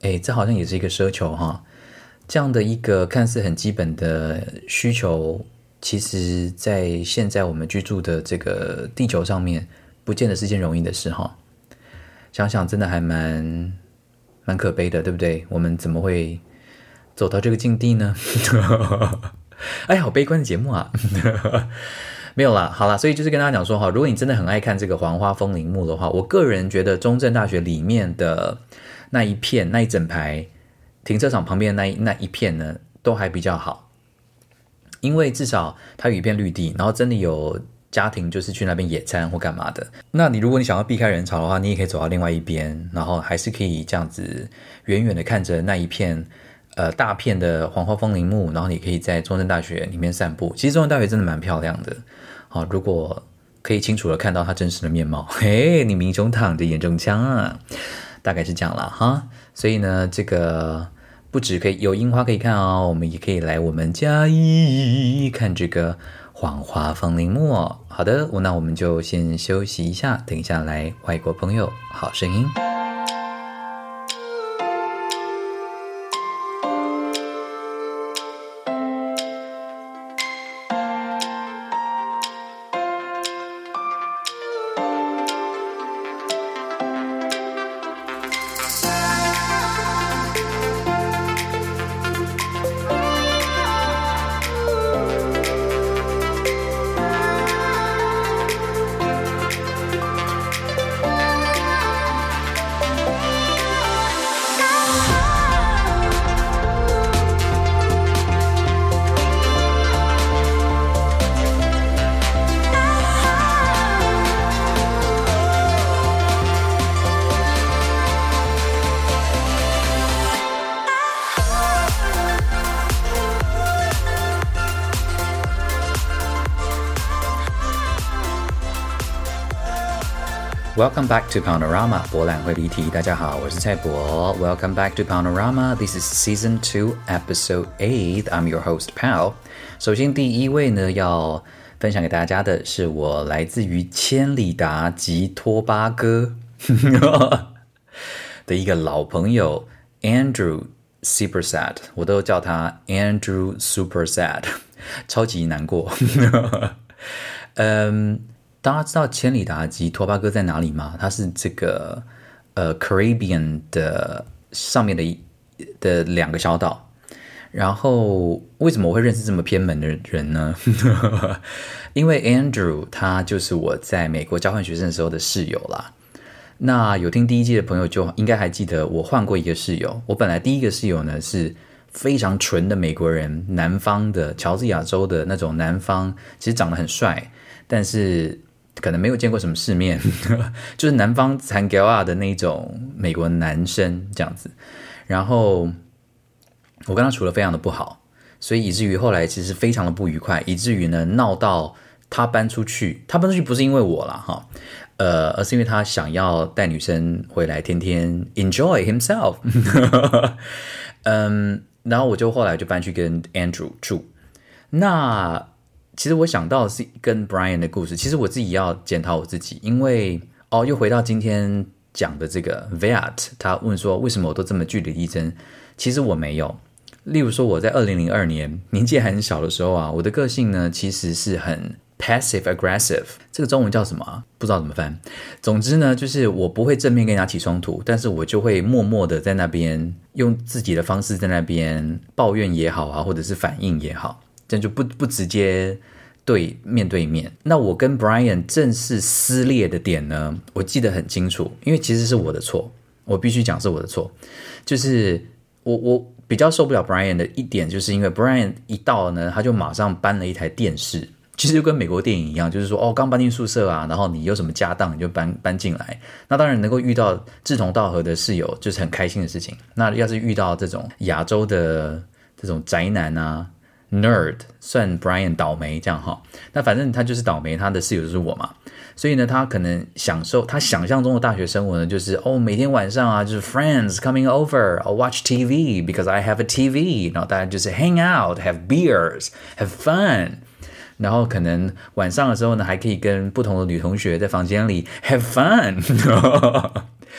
[SPEAKER 1] 這好像也是一個奢求哈。這樣的一個看似很基本的需求，其實在現在我們居住的這個地球上面，不見得是件容易的事哈。想想真的還蠻可悲的，對不對？我們怎麼會走到這個境地呢？好悲觀的節目啊！沒有啦，好啦，所以就是跟大家講說哈，如果你真的很愛看這個黃花風鈴木的話，我個人覺得中正大學裡面的那一片、那一整排停車場旁邊的那一片呢，都還比較好，因為至少它有一片綠地，然後真的有家庭就是去那邊野餐或幹嘛的。那如果你想要避開人潮的話，你也可以走到另外一邊，然後還是可以這樣子遠遠的看着那一片大片的黃花風鈴木，然後你可以在中正大學裡面散步。其實中正大學真的蠻漂亮的，如果可以清楚的看到它真實的面貌，你明中躺着眼中槍啊，大概是這樣啦哈。所以呢，這個不只可以有櫻花可以看哦，我們也可以來我們嘉義看這個黃花風鈴木哦。好的，那我們就先休息一下，等一下來外國朋友好聲音。Welcome back to Paonorama 博覽會離題。大家好，我是蔡博。Welcome back to Paonorama. This is Season 2, Episode 8. I'm your host, Pao. 首先，第一位呢要分享給大家的是我來自於千里達及托巴哥的一個老朋友 Andrew Super Sad， 我都叫他 Andrew Super Sad， 超級難過。大家知道千里達及托巴哥在哪裡嗎？它是這個Caribbean 的上面的兩個小島。然後為什麼我會認識這麼偏門的人呢？因為 Andrew 他就是我在美國交換學生的時候的室友啦。那有聽第一季的朋友就應該還記得我換過一個室友。我本來第一個室友呢是非常純的美國人，南方的喬治亞州的那種南方，其實長得很帥，但是可能沒有見過什麼世面，就是南方殘膠啊的那種美國男生這樣子。然後我跟他處得非常的不好，所以以至於後來其實非常的不愉快，以至於呢鬧到他搬出去。他搬出去不是因為我啦哈，而是因為他想要帶女生回來，天天 enjoy himself。然後我就後來就搬去跟 Andrew 住。那其實我想到的是跟 Brian 的故事，其實我自己要檢討我自己，因為又回到今天講的這個 Viat， 他問說為什麼我都這麼據理力爭，其實我沒有。例如說我在2002年年紀還很小的時候啊，我的個性呢其實是很 passive aggressive， 這個中文叫什麼啊？不知道怎麼翻。總之呢，就是我不會正面跟人家起衝突，但是我就會默默的在那邊用自己的方式在那邊抱怨也好啊，或者是反應也好。這樣就不直接面對面。那我跟 Brian 正式撕裂的點呢，我記得很清楚，因為其實是我的錯，我必須講是我的錯。就是我比較受不了 Brian 的一點，就是因為 Brian 一到呢，他就馬上搬了一台電視，其實就跟美國電影一樣，就是說剛搬進宿舍啊，然後你有什麼家當你就搬進來。那當然能夠遇到志同道合的室友就是很開心的事情。那要是遇到這種亞洲的這種宅男啊，nerd， 算 Brian 倒霉這樣哈，那反正他就是倒霉，他的室友就是我嘛，所以呢，他可能他想象中的大學生活呢，就是每天晚上啊，就是 friends coming over, I'll watch TV because I have a TV， 然後大家就是 hang out, have beers, have fun， 然後可能晚上的時候呢，還可以跟不同的女同學在房間裡 have fun，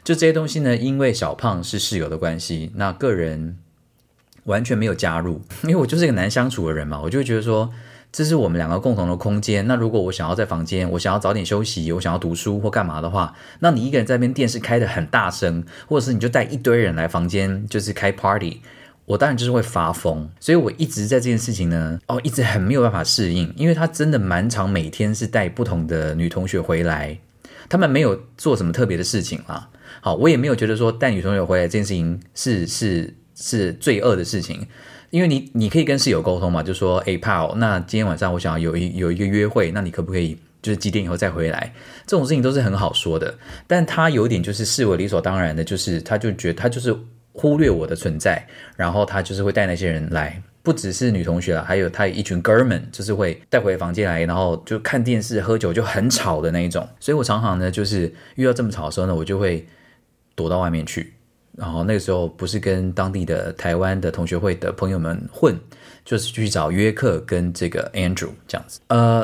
[SPEAKER 1] 就這些東西呢，因為小胖是室友的關係，那個人完全沒有加入，因為我就是一個難相處的人嘛，我就會覺得說，這是我們兩個共同的空間。那如果我想要在房間，我想要早點休息，我想要讀書或幹嘛的話，那你一個人在那邊電視開得很大聲，或者是你就帶一堆人來房間，就是開 party， 我當然就是會發瘋。所以我一直在這件事情呢，一直很沒有辦法適應，因為他真的蠻常每天是帶不同的女同學回來，他們沒有做什麼特別的事情啦。好，我也沒有覺得說帶女同學回來這件事情是罪惡的事情。因為你可以跟室友溝通嘛，就說Pao，那今天晚上我想要有一個約會，那你可不可以就是幾點以後再回來？這種事情都是很好說的。但他有點就是視為理所當然的，就是他就覺得他就是忽略我的存在，然後他就是會帶那些人來，不只是女同學啦，還有他有一群哥們，就是會帶回房間來，然後就看電視喝酒就很吵的那一種。所以我常常呢，就是遇到這麼吵的時候呢，我就會躲到外面去。然後那個時候不是跟當地的台灣的同學會的朋友們混，就是去找約克跟這個 Andrew 這樣子。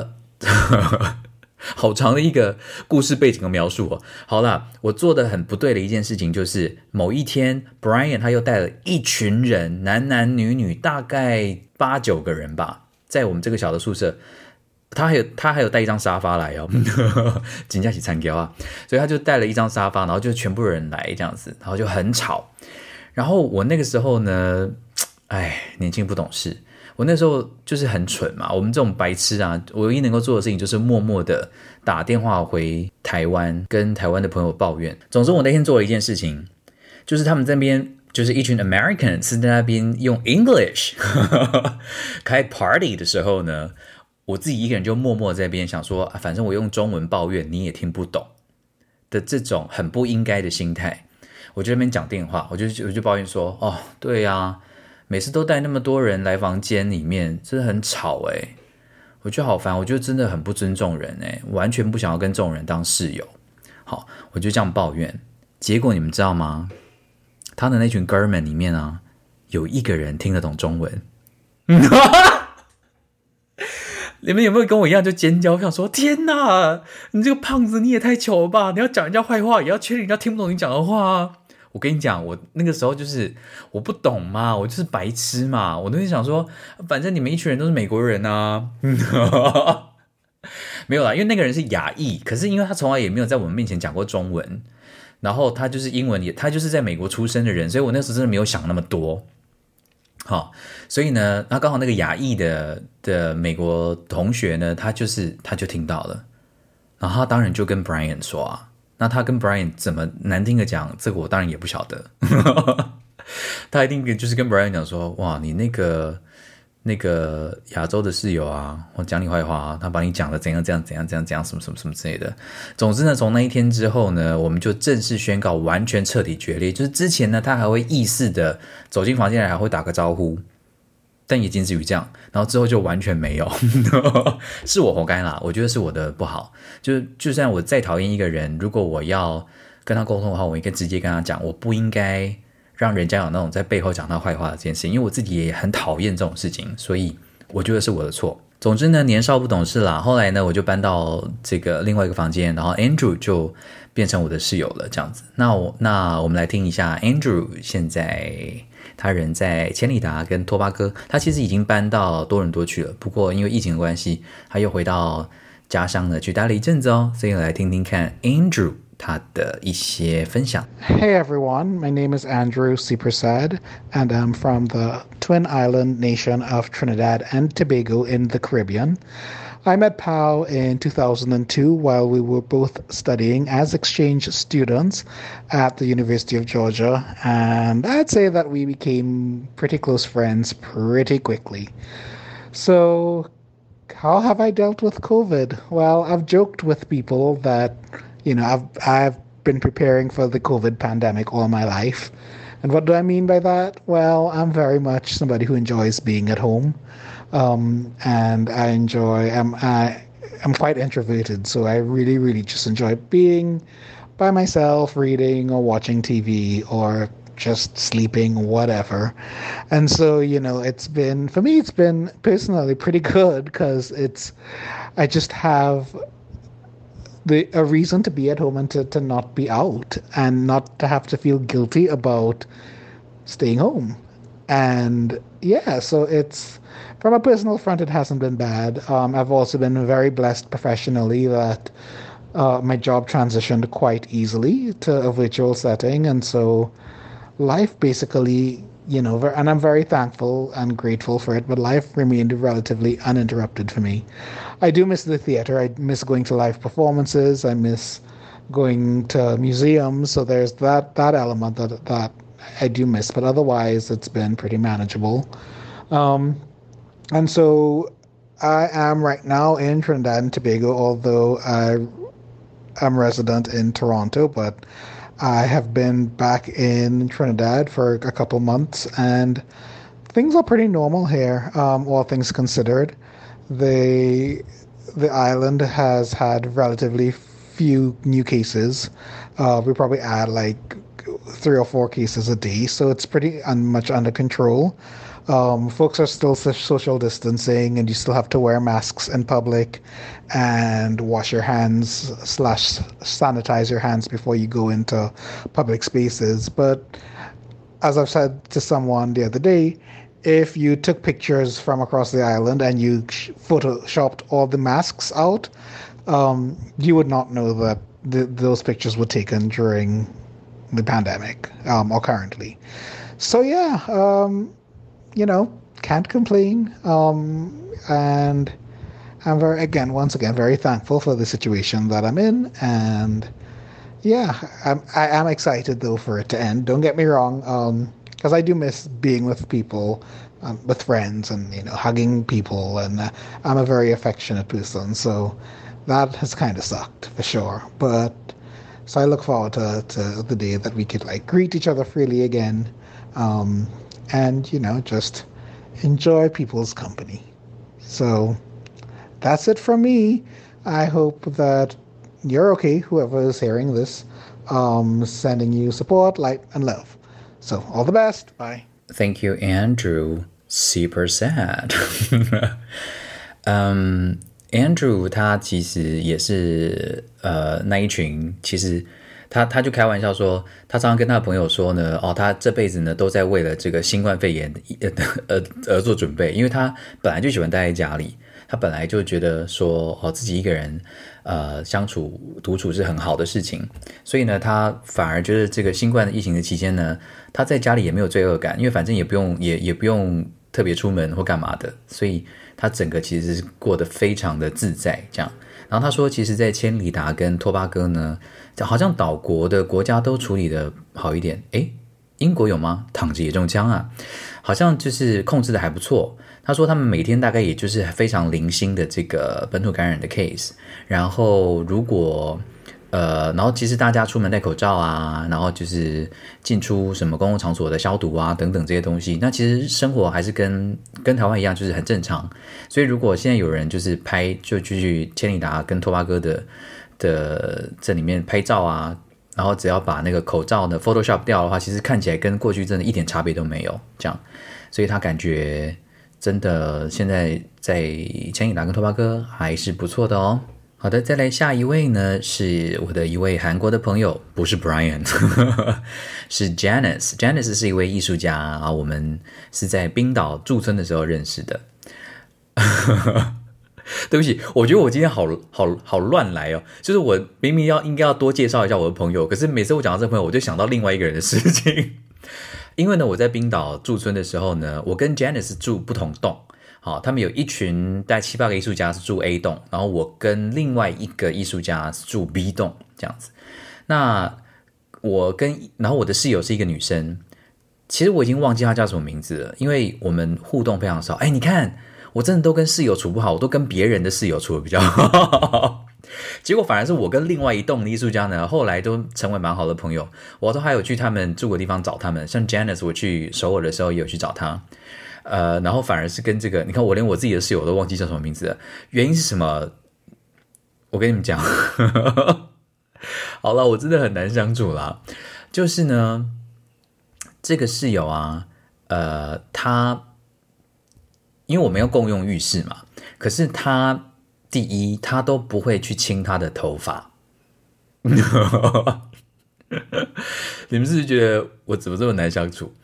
[SPEAKER 1] 好長的一個故事背景的描述哦。好啦，我做的很不對的一件事情就是某一天 Brian 他又帶了一群人，男男女女大概8-9個人吧，在我們這個小的宿舍。他還有帶一張沙發來哦，真的是慘叫啊！所以他就帶了一張沙發，然後就全部人來這樣子，然後就很吵。然後我那個時候呢，年輕不懂事，我那時候就是很蠢嘛。我們這種白痴啊，我唯一能夠做的事情就是默默的打電話回台灣，跟台灣的朋友抱怨。總之，我那天做了一件事情，就是他們這邊就是一群 Americans 是在那邊用 English 開 party 的時候呢。我自己一個人就默默在那邊想說，反正我用中文抱怨你也聽不懂的這種很不應該的心態，我就在那邊講電話，我就抱怨說，對啊，每次都帶那麼多人來房間裡面，真的很吵誒，我覺得好煩，我覺得真的很不尊重人誒，完全不想要跟這種人當室友。好，我就這樣抱怨，結果你們知道嗎？他的那群哥們裡面啊，有一個人聽得懂中文。你們有沒有跟我一樣就尖叫？我想說，天哪，你這個胖子你也太糗了吧！你要講人家壞話，也要確定人家聽不懂你講的話啊！我跟你講，我那個時候就是我不懂嘛，我就是白痴嘛，我都是想說，反正你們一群人都是美國人啊。沒有啦，因為那個人是亞裔，可是因為他從來也沒有在我們面前講過中文，然後他就是英文他就是在美國出生的人，所以我那時候真的沒有想那麼多。好，所以呢，那剛好那個亞裔的美國同學呢，他就聽到了，然後他當然就跟 Brian 說啊，那他跟 Brian 怎麼難聽的講，這個我當然也不曉得，他一定就是跟 Brian 講說，哇，你那個亞洲的室友啊，我講你壞話啊，他把你講的怎樣怎樣什麼什麼之類的。總之呢，從那一天之後呢，我們就正式宣告完全徹底決裂。就是之前呢，他還會意識的走進房間來，還會打個招呼，但也僅止於這樣。然後之後就完全沒有，是我活該啦，我覺得是我的不好。就算我再討厭一個人，如果我要跟他溝通的話，我應該直接跟他講，我不應該讓人家有那種在背後講他壞話的這件事情，因為我自己也很討厭這種事情，所以我覺得是我的錯。總之呢，年少不懂事啦。後來呢，我就搬到這個另外一個房間，然後 Andrew 就變成我的室友了，這樣子。那我們來聽一下 Andrew 現在他人在千里達跟托巴哥，他其實已經搬到多倫多去了，不過因為疫情的關係，他又回到家鄉呢去待了一陣子哦，所以來聽聽看 Andrew他的一些分享。
[SPEAKER 2] Hey everyone, my name is Andrew C. Prasad, and I'm from the Twin Island nation of Trinidad and Tobago in the Caribbean. I met Pao in 2002 while we were both studying as exchange students at the University of Georgia, and I'd say that we became pretty close friends pretty quickly. So, how have I dealt with COVID? Well, I've joked with people that I've been preparing for the COVID pandemic all my life. And what do I mean by that? Well, I'm very much somebody who enjoys being at home. And I'm quite introverted, so I really, really just enjoy being by myself, reading or watching TV or just sleeping, whatever. And so, it's been personally pretty good because I just have a reason to be at home and to not be out and not to have to feel guilty about staying home. And yeah, so it's from a personal front, it hasn't been bad. I've also been very blessed professionally that my job transitioned quite easily to a virtual setting. And so life basically, and I'm very thankful and grateful for it, but life remained relatively uninterrupted for me. I do miss the theater. I miss going to live performances. I miss going to museums. So there's that element that I do miss, but otherwise it's been pretty manageable. And so I am right now in Trinidad and Tobago, although I'm resident in Toronto, but I have been back in Trinidad for a couple months, and things are pretty normal here, all things considered. The island has had relatively few new cases. We probably add like 3 or 4 cases a day, so it's pretty much under control. Folks are still social distancing, and you still have to wear masks in public and wash your hands / sanitize your hands before you go into public spaces. But as I've said to someone the other day, if you took pictures from across the island and you photoshopped all the masks out, you would not know that those pictures were taken during the pandemic or currently. So yeah, can't complain. And I'm once again, very thankful for the situation that I'm in. And yeah, I am excited though for it to end. Don't get me wrong, because I do miss being with people, with friends, and hugging people. And I'm a very affectionate person, so that has kind of sucked for sure. But so I look forward to the day that we could like greet each other freely again, and just enjoy people's company. So that's it from me. I hope that you're okay, whoever is hearing this. Sending you support, light, and love. So all the best. Bye.
[SPEAKER 1] Thank you, Andrew. Super sad. Andrew 他其實也是那一群，其實他就開玩笑說，他常常跟他的朋友說呢，他這輩子呢都在為了這個新冠肺炎而做準備，因為他本來就喜歡待在家裡，他本來就覺得說自己一個人相處獨處是很好的事情，所以呢他反而覺得這個新冠疫情的期間呢，他在家裡也沒有罪惡感，因為反正也不用特別出門或幹嘛的，所以他整個其實是過得非常的自在這樣。然後他說，其實在千里達跟托巴哥呢，好像島國的國家都處理得好一點。誒，英國有嗎？躺着也中槍啊，好像就是控制得還不錯。他說他們每天大概也就是非常零星的這個本土感染的 case， 然後如果然後其實大家出門戴口罩啊，然後就是進出什麼公共場所的消毒啊等等這些東西，那其實生活還是跟台灣一樣，就是很正常。所以如果現在有人就是就去千里達跟托巴哥的這裡面拍照啊，然後只要把那個口罩呢 Photoshop 掉的話，其實看起來跟過去真的一點差別都沒有這樣。所以他感覺真的現在在千里達跟托巴哥還是不錯的哦。好的，再來下一位呢，是我的一位韓國的朋友，不是 Brian， 是 Janice。Janice 是一位藝術家啊，我們是在冰島駐村的時候認識的。對不起，我覺得我今天好亂來哦，就是我明明應該要多介紹一下我的朋友，可是每次我講到這個朋友，我就想到另外一個人的事情。因為呢，我在冰島駐村的時候呢，我跟 Janice 住不同棟。好，他們有一群大概7-8個藝術家是住 A 棟，然後我跟另外一個藝術家是住 B 棟這樣子。那然後我的室友是一個女生，其實我已經忘記她叫什麼名字了，因為我們互動非常少。哎，你看，我真的都跟室友處不好，我都跟別人的室友處得比較好。結果反而是我跟另外一棟的藝術家呢，後來都成為蠻好的朋友，我都還有去他們住的地方找他們，像 Janice 我去首爾的時候也有去找他。然後反而是跟這個，你看我連我自己的室友都忘記叫什麼名字了，原因是什麼？我跟你們講，好了，我真的很難相處啦。就是呢，這個室友啊，他因為我們要共用浴室嘛，可是他第一，他都不會去清他的頭髮， 你們是不是覺得我怎麼這麼難相處？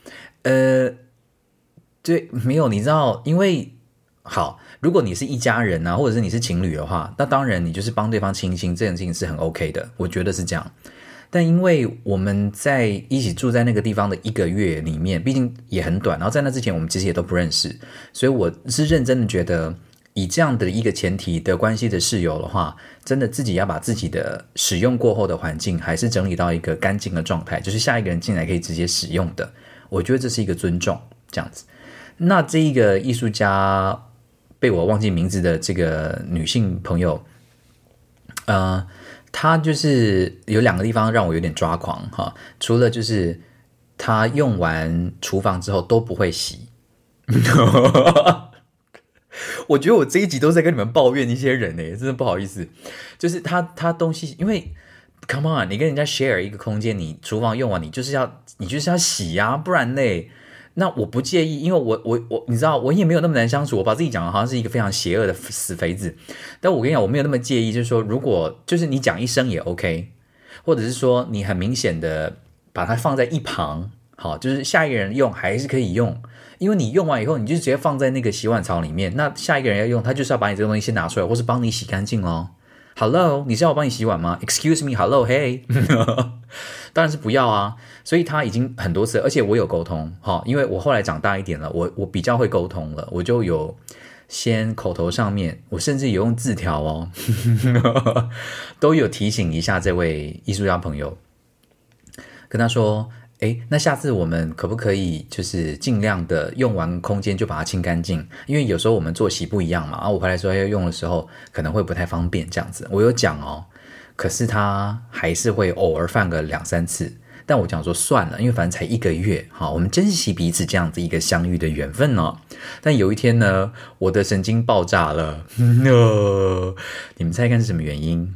[SPEAKER 1] 对，沒有，你知道，因為好，如果你是一家人啊，或者是你是情侶的話，那當然你就是幫對方親親，這件事情是很 OK 的，我覺得是這樣。但因為我們在一起住在那個地方的1個月裡面，畢竟也很短，然後在那之前我們其實也都不認識，所以我是認真的覺得，以這樣的一個前提的關係的室友的話，真的自己要把自己的使用過後的環境還是整理到一個乾淨的狀態，就是下一個人進來可以直接使用的，我覺得這是一個尊重，這樣子。那這一個藝術家被我忘記名字的這個女性朋友，她就是有2個地方讓我有點抓狂哈，除了就是她用完廚房之後都不會洗，我覺得我這一集都在跟你們抱怨一些人耶，真的不好意思，就是她東西，因為 come on， 你跟人家 share 一個空間，你廚房用完你就是要洗啊，不然嘞。那我不介意，因為我你知道我也沒有那麼難相處，我把自己講的好像是一個非常邪惡的死肥子，但我跟你講我沒有那麼介意，就是說如果就是你講一聲也 OK， 或者是說你很明顯的把它放在一旁，好，就是下一個人用還是可以用，因為你用完以後你就直接放在那個洗碗槽裡面，那下一個人要用他就是要把你這個東西先拿出來，或是幫你洗乾淨咯。Hello， 你是要我幫你洗碗嗎 ？Excuse me，Hello， Hey， 當然是不要啊。所以他已經很多次，而且我有溝通，因為我後來長大一點了，我比較會溝通了，我就有先口頭上面，我甚至有用字條哦，都有提醒一下這位藝術家朋友，跟他說，那下次我們可不可以就是盡量的用完空間就把它清乾淨，因為有時候我們作息不一樣嘛，我回來之後要用的時候可能會不太方便這樣子，我有講哦，可是他還是會偶爾犯個2-3次，但我講說算了，因為反正才1個月，好，我們珍惜彼此這樣子一個相遇的緣分哦。但有一天呢，我的神經爆炸了，你們猜看是什麼原因？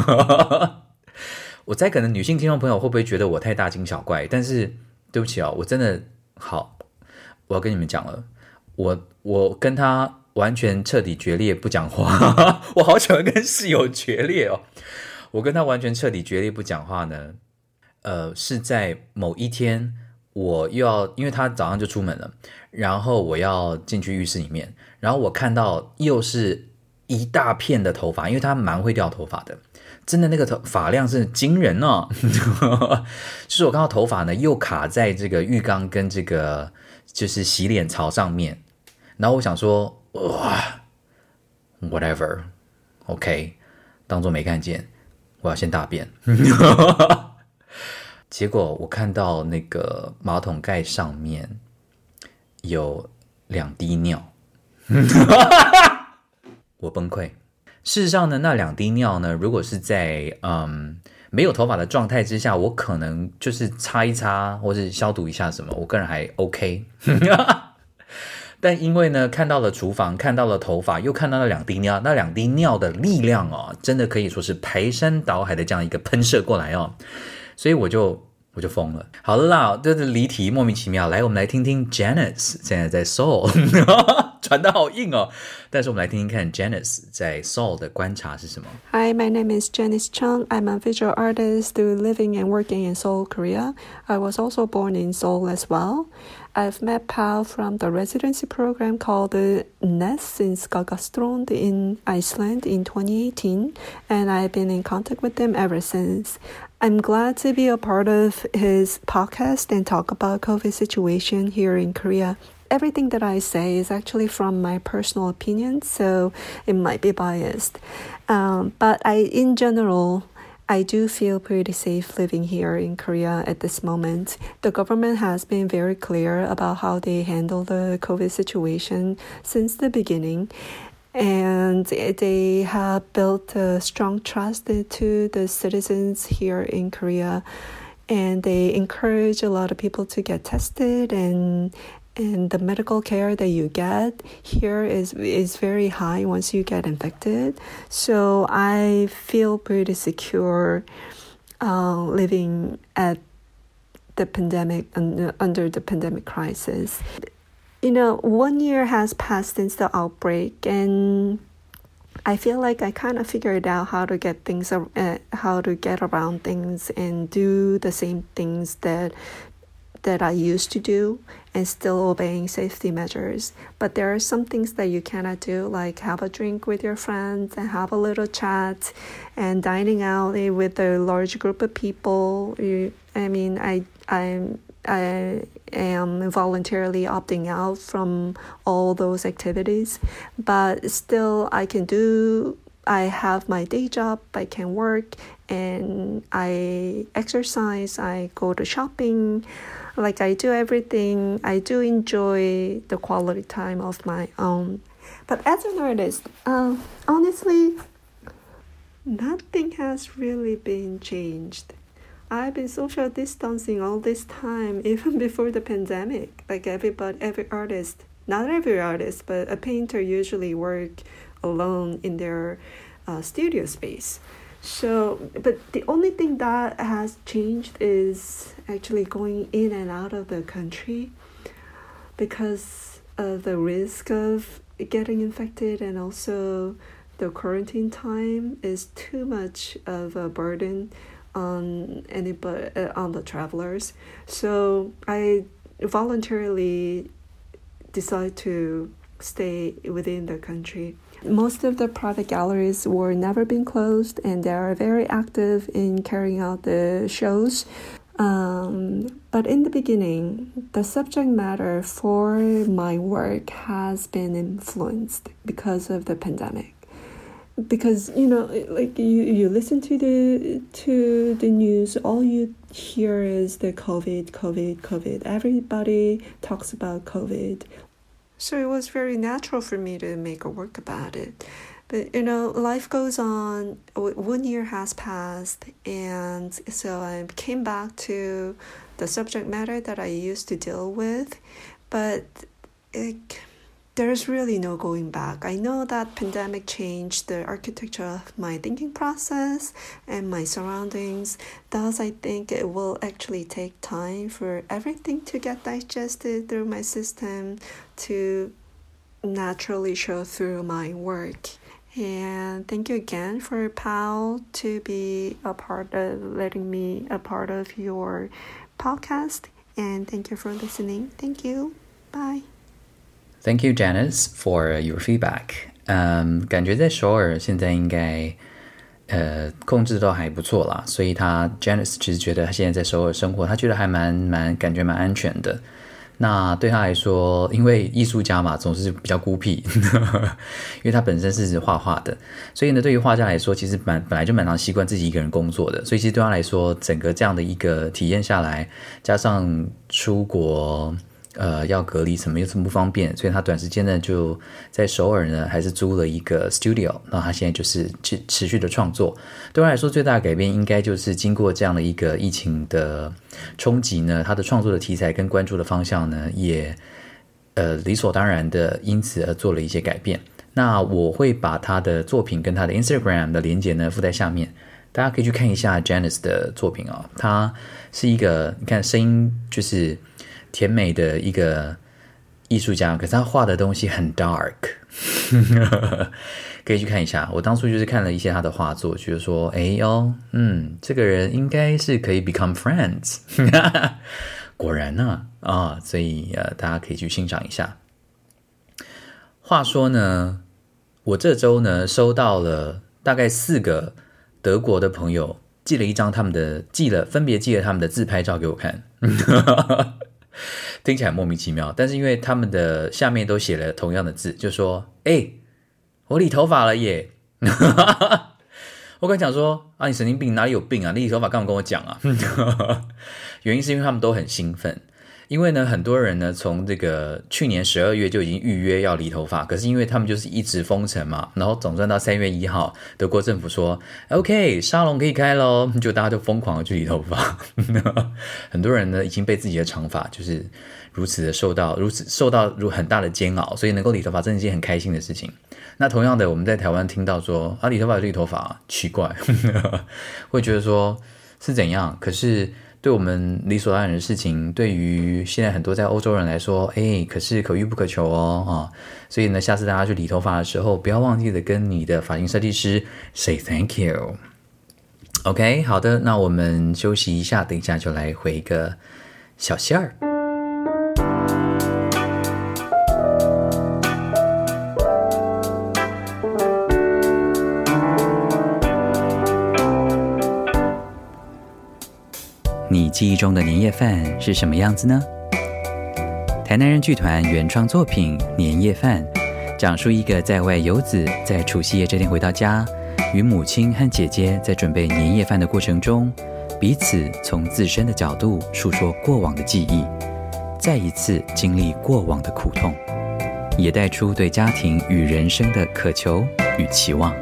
[SPEAKER 1] 我猜可能女性聽眾朋友會不會覺得我太大驚小怪，但是對不起哦，我真的好，我要跟你們講了，我跟他完全徹底決裂不講話，我好喜歡跟室友決裂哦，我跟他完全徹底決裂不講話呢，是在某一天我又要，因為他早上就出門了，然後我要進去浴室裡面，然後我看到又是一大片的頭髮，因為他蠻會掉頭髮的，真的那個髮量是驚人哦，就是我看到頭髮呢又卡在這個浴缸跟這個就是洗臉槽上面，然後我想說哇 whatever OK 當作沒看見，我要先大便結果我看到那個馬桶蓋上面有2滴尿我崩潰。事實上呢，那2滴尿呢，如果是在沒有頭髮的狀態之下，我可能就是擦一擦或是消毒一下什麼，我個人還 OK 但因為呢看到了廚房，看到了頭髮，又看到了2滴尿，那2滴尿的力量哦，真的可以說是排山倒海的這樣一個噴射過來哦，所以我就瘋了。好了啦，這是離題莫名其妙，來我們來聽聽 Janice 現在在 Seoul 傳得好硬哦，但是我們來聽聽看 Janice 在 Seoul 的觀察是什麼。
[SPEAKER 3] Hi, my name is Janice Chung. I'm a visual artist living and working in Seoul, Korea. I was also born in Seoul as well. I've met Pal from the residency program called NES in Skagastrond in Iceland in 2018, and I've been in contact with him ever since. I'm glad to be a part of his podcast and talk about COVID situation here in Korea. Everything that I say is actually from my personal opinion, so it might be biased. But in general, I do feel pretty safe living here in Korea at this moment. The government has been very clear about how they handle the COVID situation since the beginning. And they have built a strong trust to the citizens here in Korea. And they encourage a lot of people to get tested, and the medical care that you get here is very high once you get infected. So I feel pretty secure living at the pandemic under the pandemic crisis. 1 year has passed since the outbreak, and I feel like I kind of figured out how to get around things and do the same things that I used to do and still obeying safety measures. But there are some things that you cannot do, like have a drink with your friends and have a little chat and dining out with a large group of people. I am voluntarily opting out from all those activities, but still I have my day job, I can work, and I exercise, I go to shopping, like I do everything. I do enjoy the quality time of my own. But as an artist, honestly, nothing has really been changed. I've been social distancing all this time, even before the pandemic. Like every artist, not every artist, but a painter usually work alone in their studio space. So, but the only thing that has changed is actually going in and out of the country because of the risk of getting infected, and also the quarantine time is too much of a burden on the travelers. So I voluntarily decide to stay within the country. Most of the private galleries were never been closed, and they are very active in carrying out the shows. But in the beginning, the subject matter for my work has been influenced because of the pandemic. Because like you listen to the news, all you hear is the COVID. Everybody talks about COVID. So it was very natural for me to make a work about it. But life goes on. 1 year has passed, and so I came back to the subject matter that I used to deal with. But there's really no going back. I know that pandemic changed the architecture of my thinking process and my surroundings. Thus, I think it will actually take time for everything to get digested through my system to naturally show through my work. And thank you again for Pao to be letting me a part of your podcast. And thank you for listening. Thank you. Bye.
[SPEAKER 1] Thank you, Janice, for your feedback. 感觉在首爾现在应该控制都還不錯啦，所以Janice 其實覺得他現在在首爾生活，他覺得還感覺蠻安全的。那對他來說，因為藝術家嘛，總是比較孤僻，因為他本身是畫畫的，所以呢，對於畫家來說，其實本來就蠻常習慣自己一個人工作的，所以其實對他來說，整個這樣的一個體驗下來，加上出國要隔離什麼又這麼不方便，所以他短時間呢就在首爾呢還是租了一個 studio， 然後他現在就是持續的創作。對他來說最大的改變應該就是經過這樣的一個疫情的衝擊呢，他的創作的題材跟關注的方向呢也理所當然的因此而做了一些改變。那我會把他的作品跟他的 Instagram 的連結呢附在下面，大家可以去看一下 Janice 的作品哦。他是一個你看聲音就是甜美的一個藝術家，可是他畫的東西很 dark 可以去看一下。我當初就是看了一些他的畫作，覺得說這個人應該是可以 become friends 果然呢所以大家可以去欣賞一下。話說呢，我這週呢收到了大概4個德國的朋友分別寄了他們的自拍照給我看聽起來莫名其妙，但是因為他們的下面都寫了同樣的字，就說我理頭髮了耶我剛講說你神經病，哪裡有病啊，你理頭髮幹嘛跟我講啊原因是因為他們都很興奮，因為呢很多人呢從這個去年12月就已經預約要理頭髮，可是因為他們就是一直封城嘛，然後總算到3月1號德國政府說 OK 沙龍可以開咯，就大家就瘋狂的去理頭髮很多人呢已經被自己的長髮就是如此的受到很大的煎熬，所以能夠理頭髮真的是一件很開心的事情。那同樣的我們在台灣聽到說理頭髮有理頭髮奇怪會覺得說是怎樣，可是對我們理所當然的事情，對於現在很多在歐洲人來說，可是可遇不可求哦。所以呢，下次大家去理頭髮的時候，不要忘記的跟你的髮型設計師 say thank you。OK， 好的，那我們休息一下，等一下就來回個小線兒。你記憶中的年夜飯是什麼樣子呢？台南人劇團原創作品《年夜飯》，講述一個在外遊子在除夕夜這天回到家，與母親和姐姐在準備年夜飯的過程中，彼此從自身的角度述說過往的記憶，再一次經歷過往的苦痛，也帶出對家庭與人生的渴求與期望。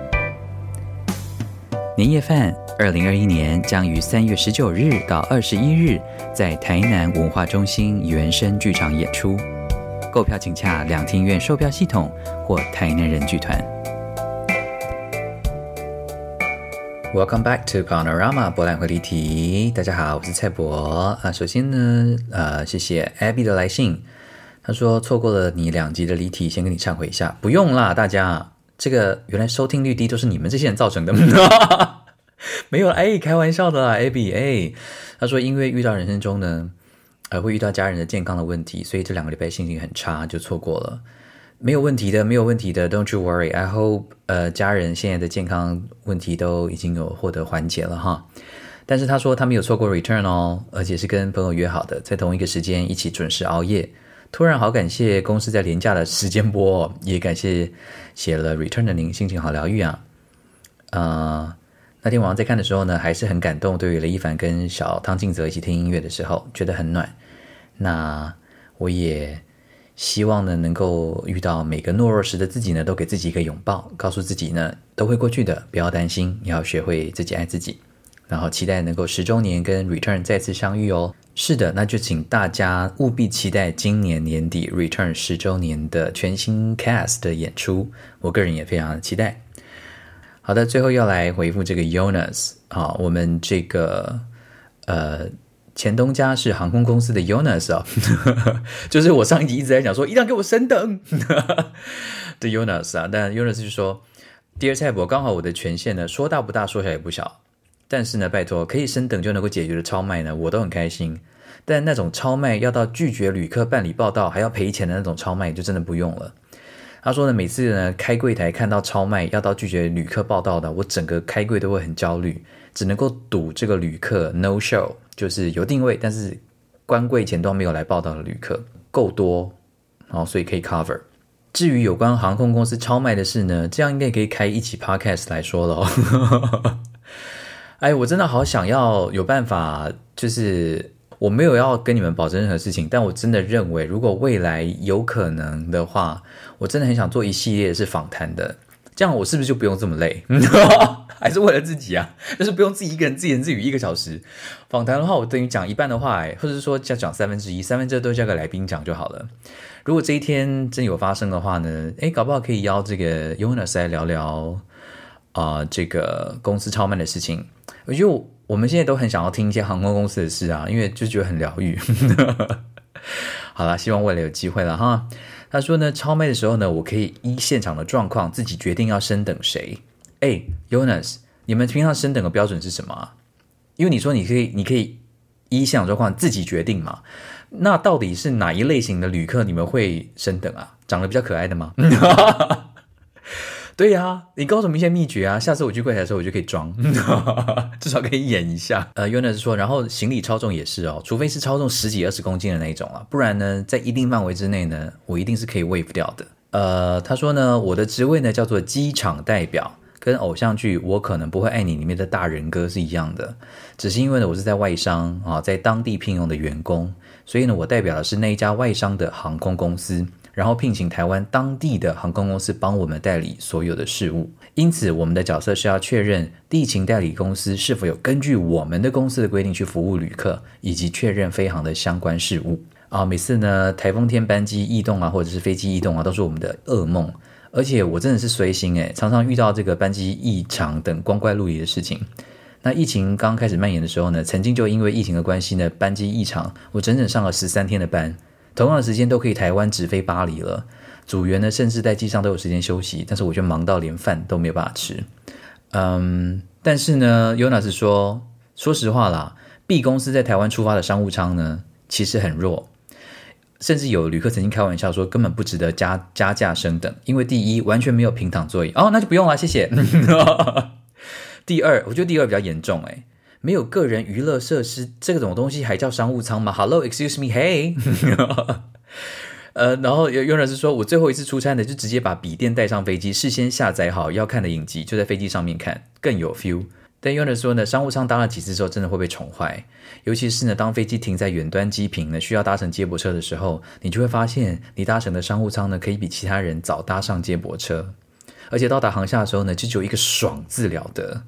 [SPEAKER 1] 年夜飯2021年將於3月19日到21日在台南文化中心原聲劇場演出，購票請洽兩廳院售票系統或台南人劇團。Welcome back to Paonorama 博覽會離題。大家好，我是蔡博。首先呢，謝謝 Abby 的來信，他說錯過了你2集的離題，先跟你懺悔一下。不用啦，大家，這個原來收聽率低都是你們這些人造成的。沒有，開玩笑的啦 ，Abby，他說因為遇到人生中呢，會遇到家人的健康的問題，所以這2個禮拜心情很差，就錯過了。沒有問題的 ，Don't you worry. I hope 家人現在的健康問題都已經有獲得緩解了哈。但是他說他沒有錯過 return 哦，而且是跟朋友約好的，在同一個時間一起準時熬夜。突然好感謝公司在連假的時間播哦，也感謝寫了 return 的您，心情好療癒啊。那天晚上在看的時候呢，還是很感動。對於雷一凡跟小湯靜澤一起聽音樂的時候，覺得很暖。那我也希望呢，能夠遇到每個懦弱時的自己呢，都給自己一個擁抱，告訴自己呢，都會過去的，不要擔心，要學會自己愛自己。然後期待能夠10週年跟 Return 再次相遇哦。是的，那就請大家務必期待今年年底 Return 10週年的全新 Cast 的演出，我個人也非常的期待。好的，最後要來回復這個 Jonas 啊，我們這個前東家是航空公司的 Jonas 啊，就是我上一集一直在講說一定要給我升等的 Jonas 啊，但 Jonas 就說 Dear 蔡博，剛好我的權限呢說大不大說小也不小，但是呢拜託可以升等就能夠解決的超賣呢我都很開心，但那種超賣要到拒絕旅客辦理報到還要賠錢的那種超賣就真的不用了。他說呢，每次呢開櫃台看到超賣要到拒絕旅客報到的，我整個開櫃都會很焦慮，只能夠賭這個旅客 no show， 就是有訂位但是關櫃前都沒有來報到的旅客夠多，所以可以 cover。至於有關航空公司超賣的事呢，這樣應該可以開一期 podcast 來說了我真的好想要有辦法，就是我沒有要跟你們保證任何事情，但我真的認為如果未來有可能的話，我真的很想做一系列是訪談的，這樣我是不是就不用這麼累還是為了自己啊，就是不用自己一個人自言自語1個小時。訪談的話我等於講一半的話或者是說講1/3都交給來賓講就好了。如果這一天真有發生的話呢，搞不好可以邀這個 Jonas 來聊聊這個公司超賣的事情。我覺得我們現在都很想要聽一些航空公司的事啊，因為就覺得很療癒好啦，希望未來有機會了哈。他說呢，超賣的時候呢，我可以依現場的狀況自己決定要升等誰。Jonas， 你們平常升等的標準是什麼啊？因為你說你可以依現場狀況自己決定嘛，那到底是哪一類型的旅客你們會升等啊？長得比較可愛的嗎？對啊，你告訴我們一些秘訣啊，下次我去櫃檯的時候我就可以裝至少可以演一下。Jonas 說，然後行李超重也是哦，除非是超重10幾20公斤的那一種啊，不然呢在一定範圍之內呢，我一定是可以 waive 掉的。他說呢，我的職位呢叫做機場代表，跟偶像劇我可能不會愛你裡面的大人哥是一樣的，只是因為呢我是在外商啊，在當地聘用的員工，所以呢我代表的是那一家外商的航空公司，然後聘請台灣當地的航空公司幫我們代理所有的事務，因此我們的角色是要確認地勤代理公司是否有根據我們的公司的規定去服務旅客，以及確認飛航的相關事務每次呢台風天班機異動啊，或者是飛機異動啊，都是我們的噩夢，而且我真的是隨行常常遇到這個班機異常等光怪陸離的事情。 那疫情剛開始蔓延的時候呢，曾經就因為疫情的關係呢，班機異常，我整整上了13天的班，同樣的時間都可以台灣直飛巴黎了。組員呢，甚至在機上都有時間休息，但是我卻忙到連飯都沒有辦法吃。但是呢 Jonas 說實話啦，B 公司在台灣出發的商務艙呢，其實很弱，甚至有旅客曾經開玩笑說，根本不值得加價升等，因為第一完全沒有平躺座椅，那就不用了，謝謝。第二，我覺得第二比較嚴重，沒有個人娛樂設施，這種東西還叫商務艙嗎 ？Hello, excuse me, hey 。然後有人是說，我最後一次出差呢，就直接把筆電帶上飛機，事先下載好要看的影集，就在飛機上面看，更有 feel。但有人說呢，商務艙搭了幾次之後，真的會被寵壞，尤其是呢，當飛機停在遠端機坪呢，需要搭乘接駁車的時候，你就會發現，你搭乘的商務艙呢，可以比其他人早搭上接駁車，而且到達航廈的時候呢，就只有一個爽字了得。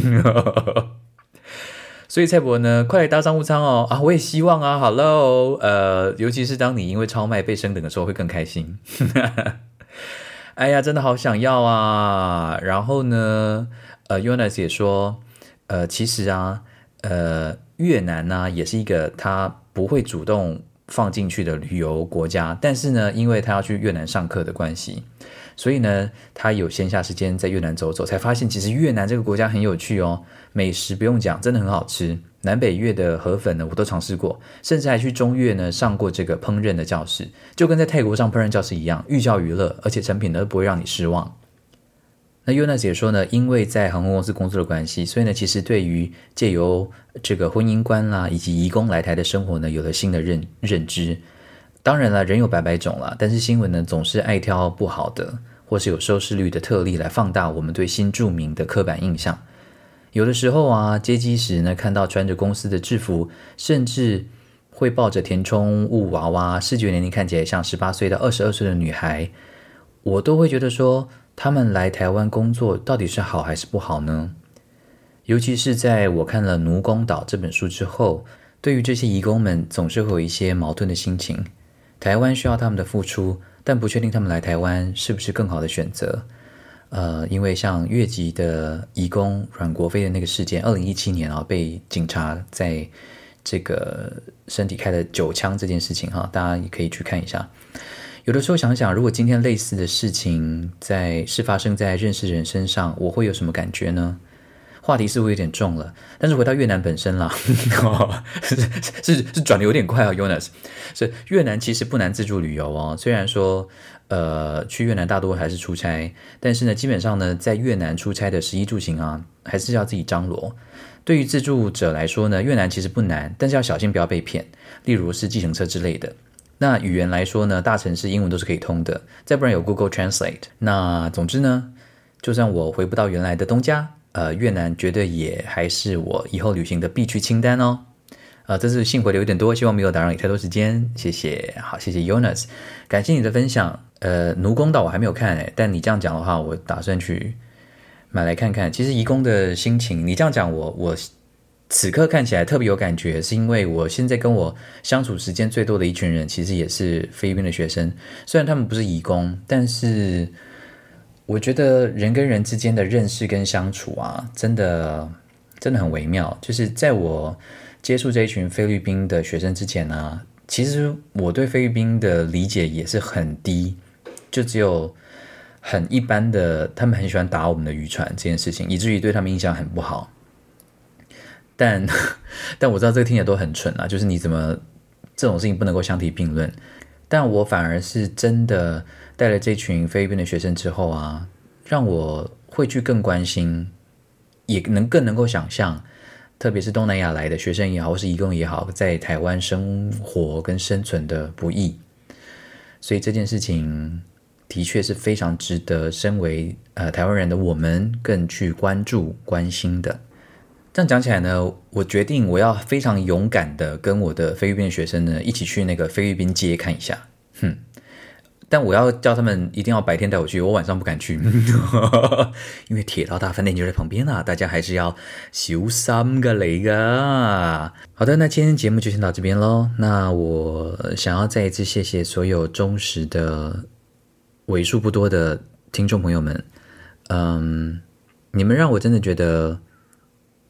[SPEAKER 1] 所以蔡伯呢，快來搭商務艙哦！我也希望啊 ，Hello， 尤其是當你因為超賣被升等的時候，會更開心。哎呀，真的好想要啊！然後呢，Jonas 也說，其實啊，越南呢，也是一個他不會主動放進去的旅遊國家，但是呢，因為他要去越南上課的關係，所以呢，他有閒暇時間在越南走走，才發現其實越南這個國家很有趣哦。美食不用講，真的很好吃。南北越的河粉呢，我都嘗試過，甚至還去中越呢上過這個烹飪的教室，就跟在泰國上烹飪教室一樣，寓教於樂，而且成品呢不會讓你失望。那 Jonas 也說呢，因為在航空公司工作的關係，所以呢，其實對於借由這個婚姻觀啦，以及移工來台的生活呢，有了新的認知。當然了，人有百百種啦，但是新聞呢總是愛挑不好的，或是有收視率的特例來放大我們對新住民的刻板印象。有的時候啊，接機時呢，看到穿着公司的制服，甚至會抱着填充物娃娃，視覺年齡看起來像18歲到22歲的女孩，我都會覺得說，他們來台灣工作到底是好還是不好呢？尤其是在我看了《奴工島》這本書之後，對於這些移工們總是會有一些矛盾的心情。台灣需要他們的付出，但不確定他們來台灣是不是更好的選擇。因為像越籍的移工阮國飛的那個事件，2017年被警察在這個身體開了9槍這件事情大家也可以去看一下。有的時候想想，如果今天類似的事情是發生在認識人身上，我會有什麼感覺呢？話題似乎有點重了，但是回到越南本身啦，是轉得有點快Jonas。所以越南其實不難自助旅遊哦，雖然說去越南大多還是出差，但是呢，基本上呢，在越南出差的食衣住行啊，還是要自己張羅。對於自助者來說呢，越南其實不難，但是要小心不要被騙，例如是計程車之類的。那語言來說呢，大城市英文都是可以通的，再不然有 Google Translate。那總之呢，就算我回不到原來的東家，越南絕對也還是我以後旅行的必去清單哦。這次信回的有點多，希望沒有打擾你太多時間，謝謝。好，謝謝 Jonas， 感謝你的分享。奴工島我還沒有看但你這樣講的話，我打算去買來看看。其實移工的心情，你這樣講我此刻看起來特別有感覺，是因為我現在跟我相處時間最多的一群人，其實也是菲律賓的學生。雖然他們不是移工，但是我覺得人跟人之間的認識跟相處啊，真的很微妙。就是在我接觸這一群菲律賓的學生之前呢，其實我對菲律賓的理解也是很低，就只有很一般的，他們很喜歡打我們的漁船這件事情，以至於對他們印象很不好。但我知道這個聽起來都很蠢啊，就是你怎麼這種事情不能夠相提並論。但我反而是真的帶了這群菲律賓的學生之後啊，讓我會去更關心，也更能夠想象，特別是東南亞來的學生也好，或是移工也好，在台灣生活跟生存的不易。所以這件事情的確是非常值得身為台灣人的我們更去關注關心的。這樣講起來呢，我決定我要非常勇敢的跟我的菲律賓學生呢一起去那個菲律賓街看一下。但我要叫他們一定要白天帶我去，我晚上不敢去，因為鐵道大飯店就在旁邊啊，大家還是要小心㗎嚟㗎。好的，那今天節目就先到這邊咯。那我想要再一次謝謝所有忠實的為數不多的聽眾朋友們，你們讓我真的覺得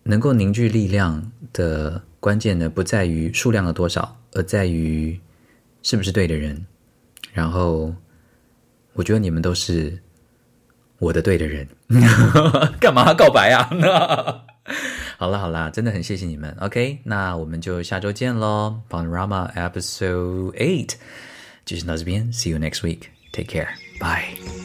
[SPEAKER 1] 能夠凝聚力量的關鍵呢，不在於數量的多少，而在於是不是對的人。然後我覺得你們都是我的對的人。幹嘛告白啊？好啦，真的很謝謝你們。OK， 那我們就下周見咯。Paonorama Episode 8就先到這邊，See you next week. Take care. Bye.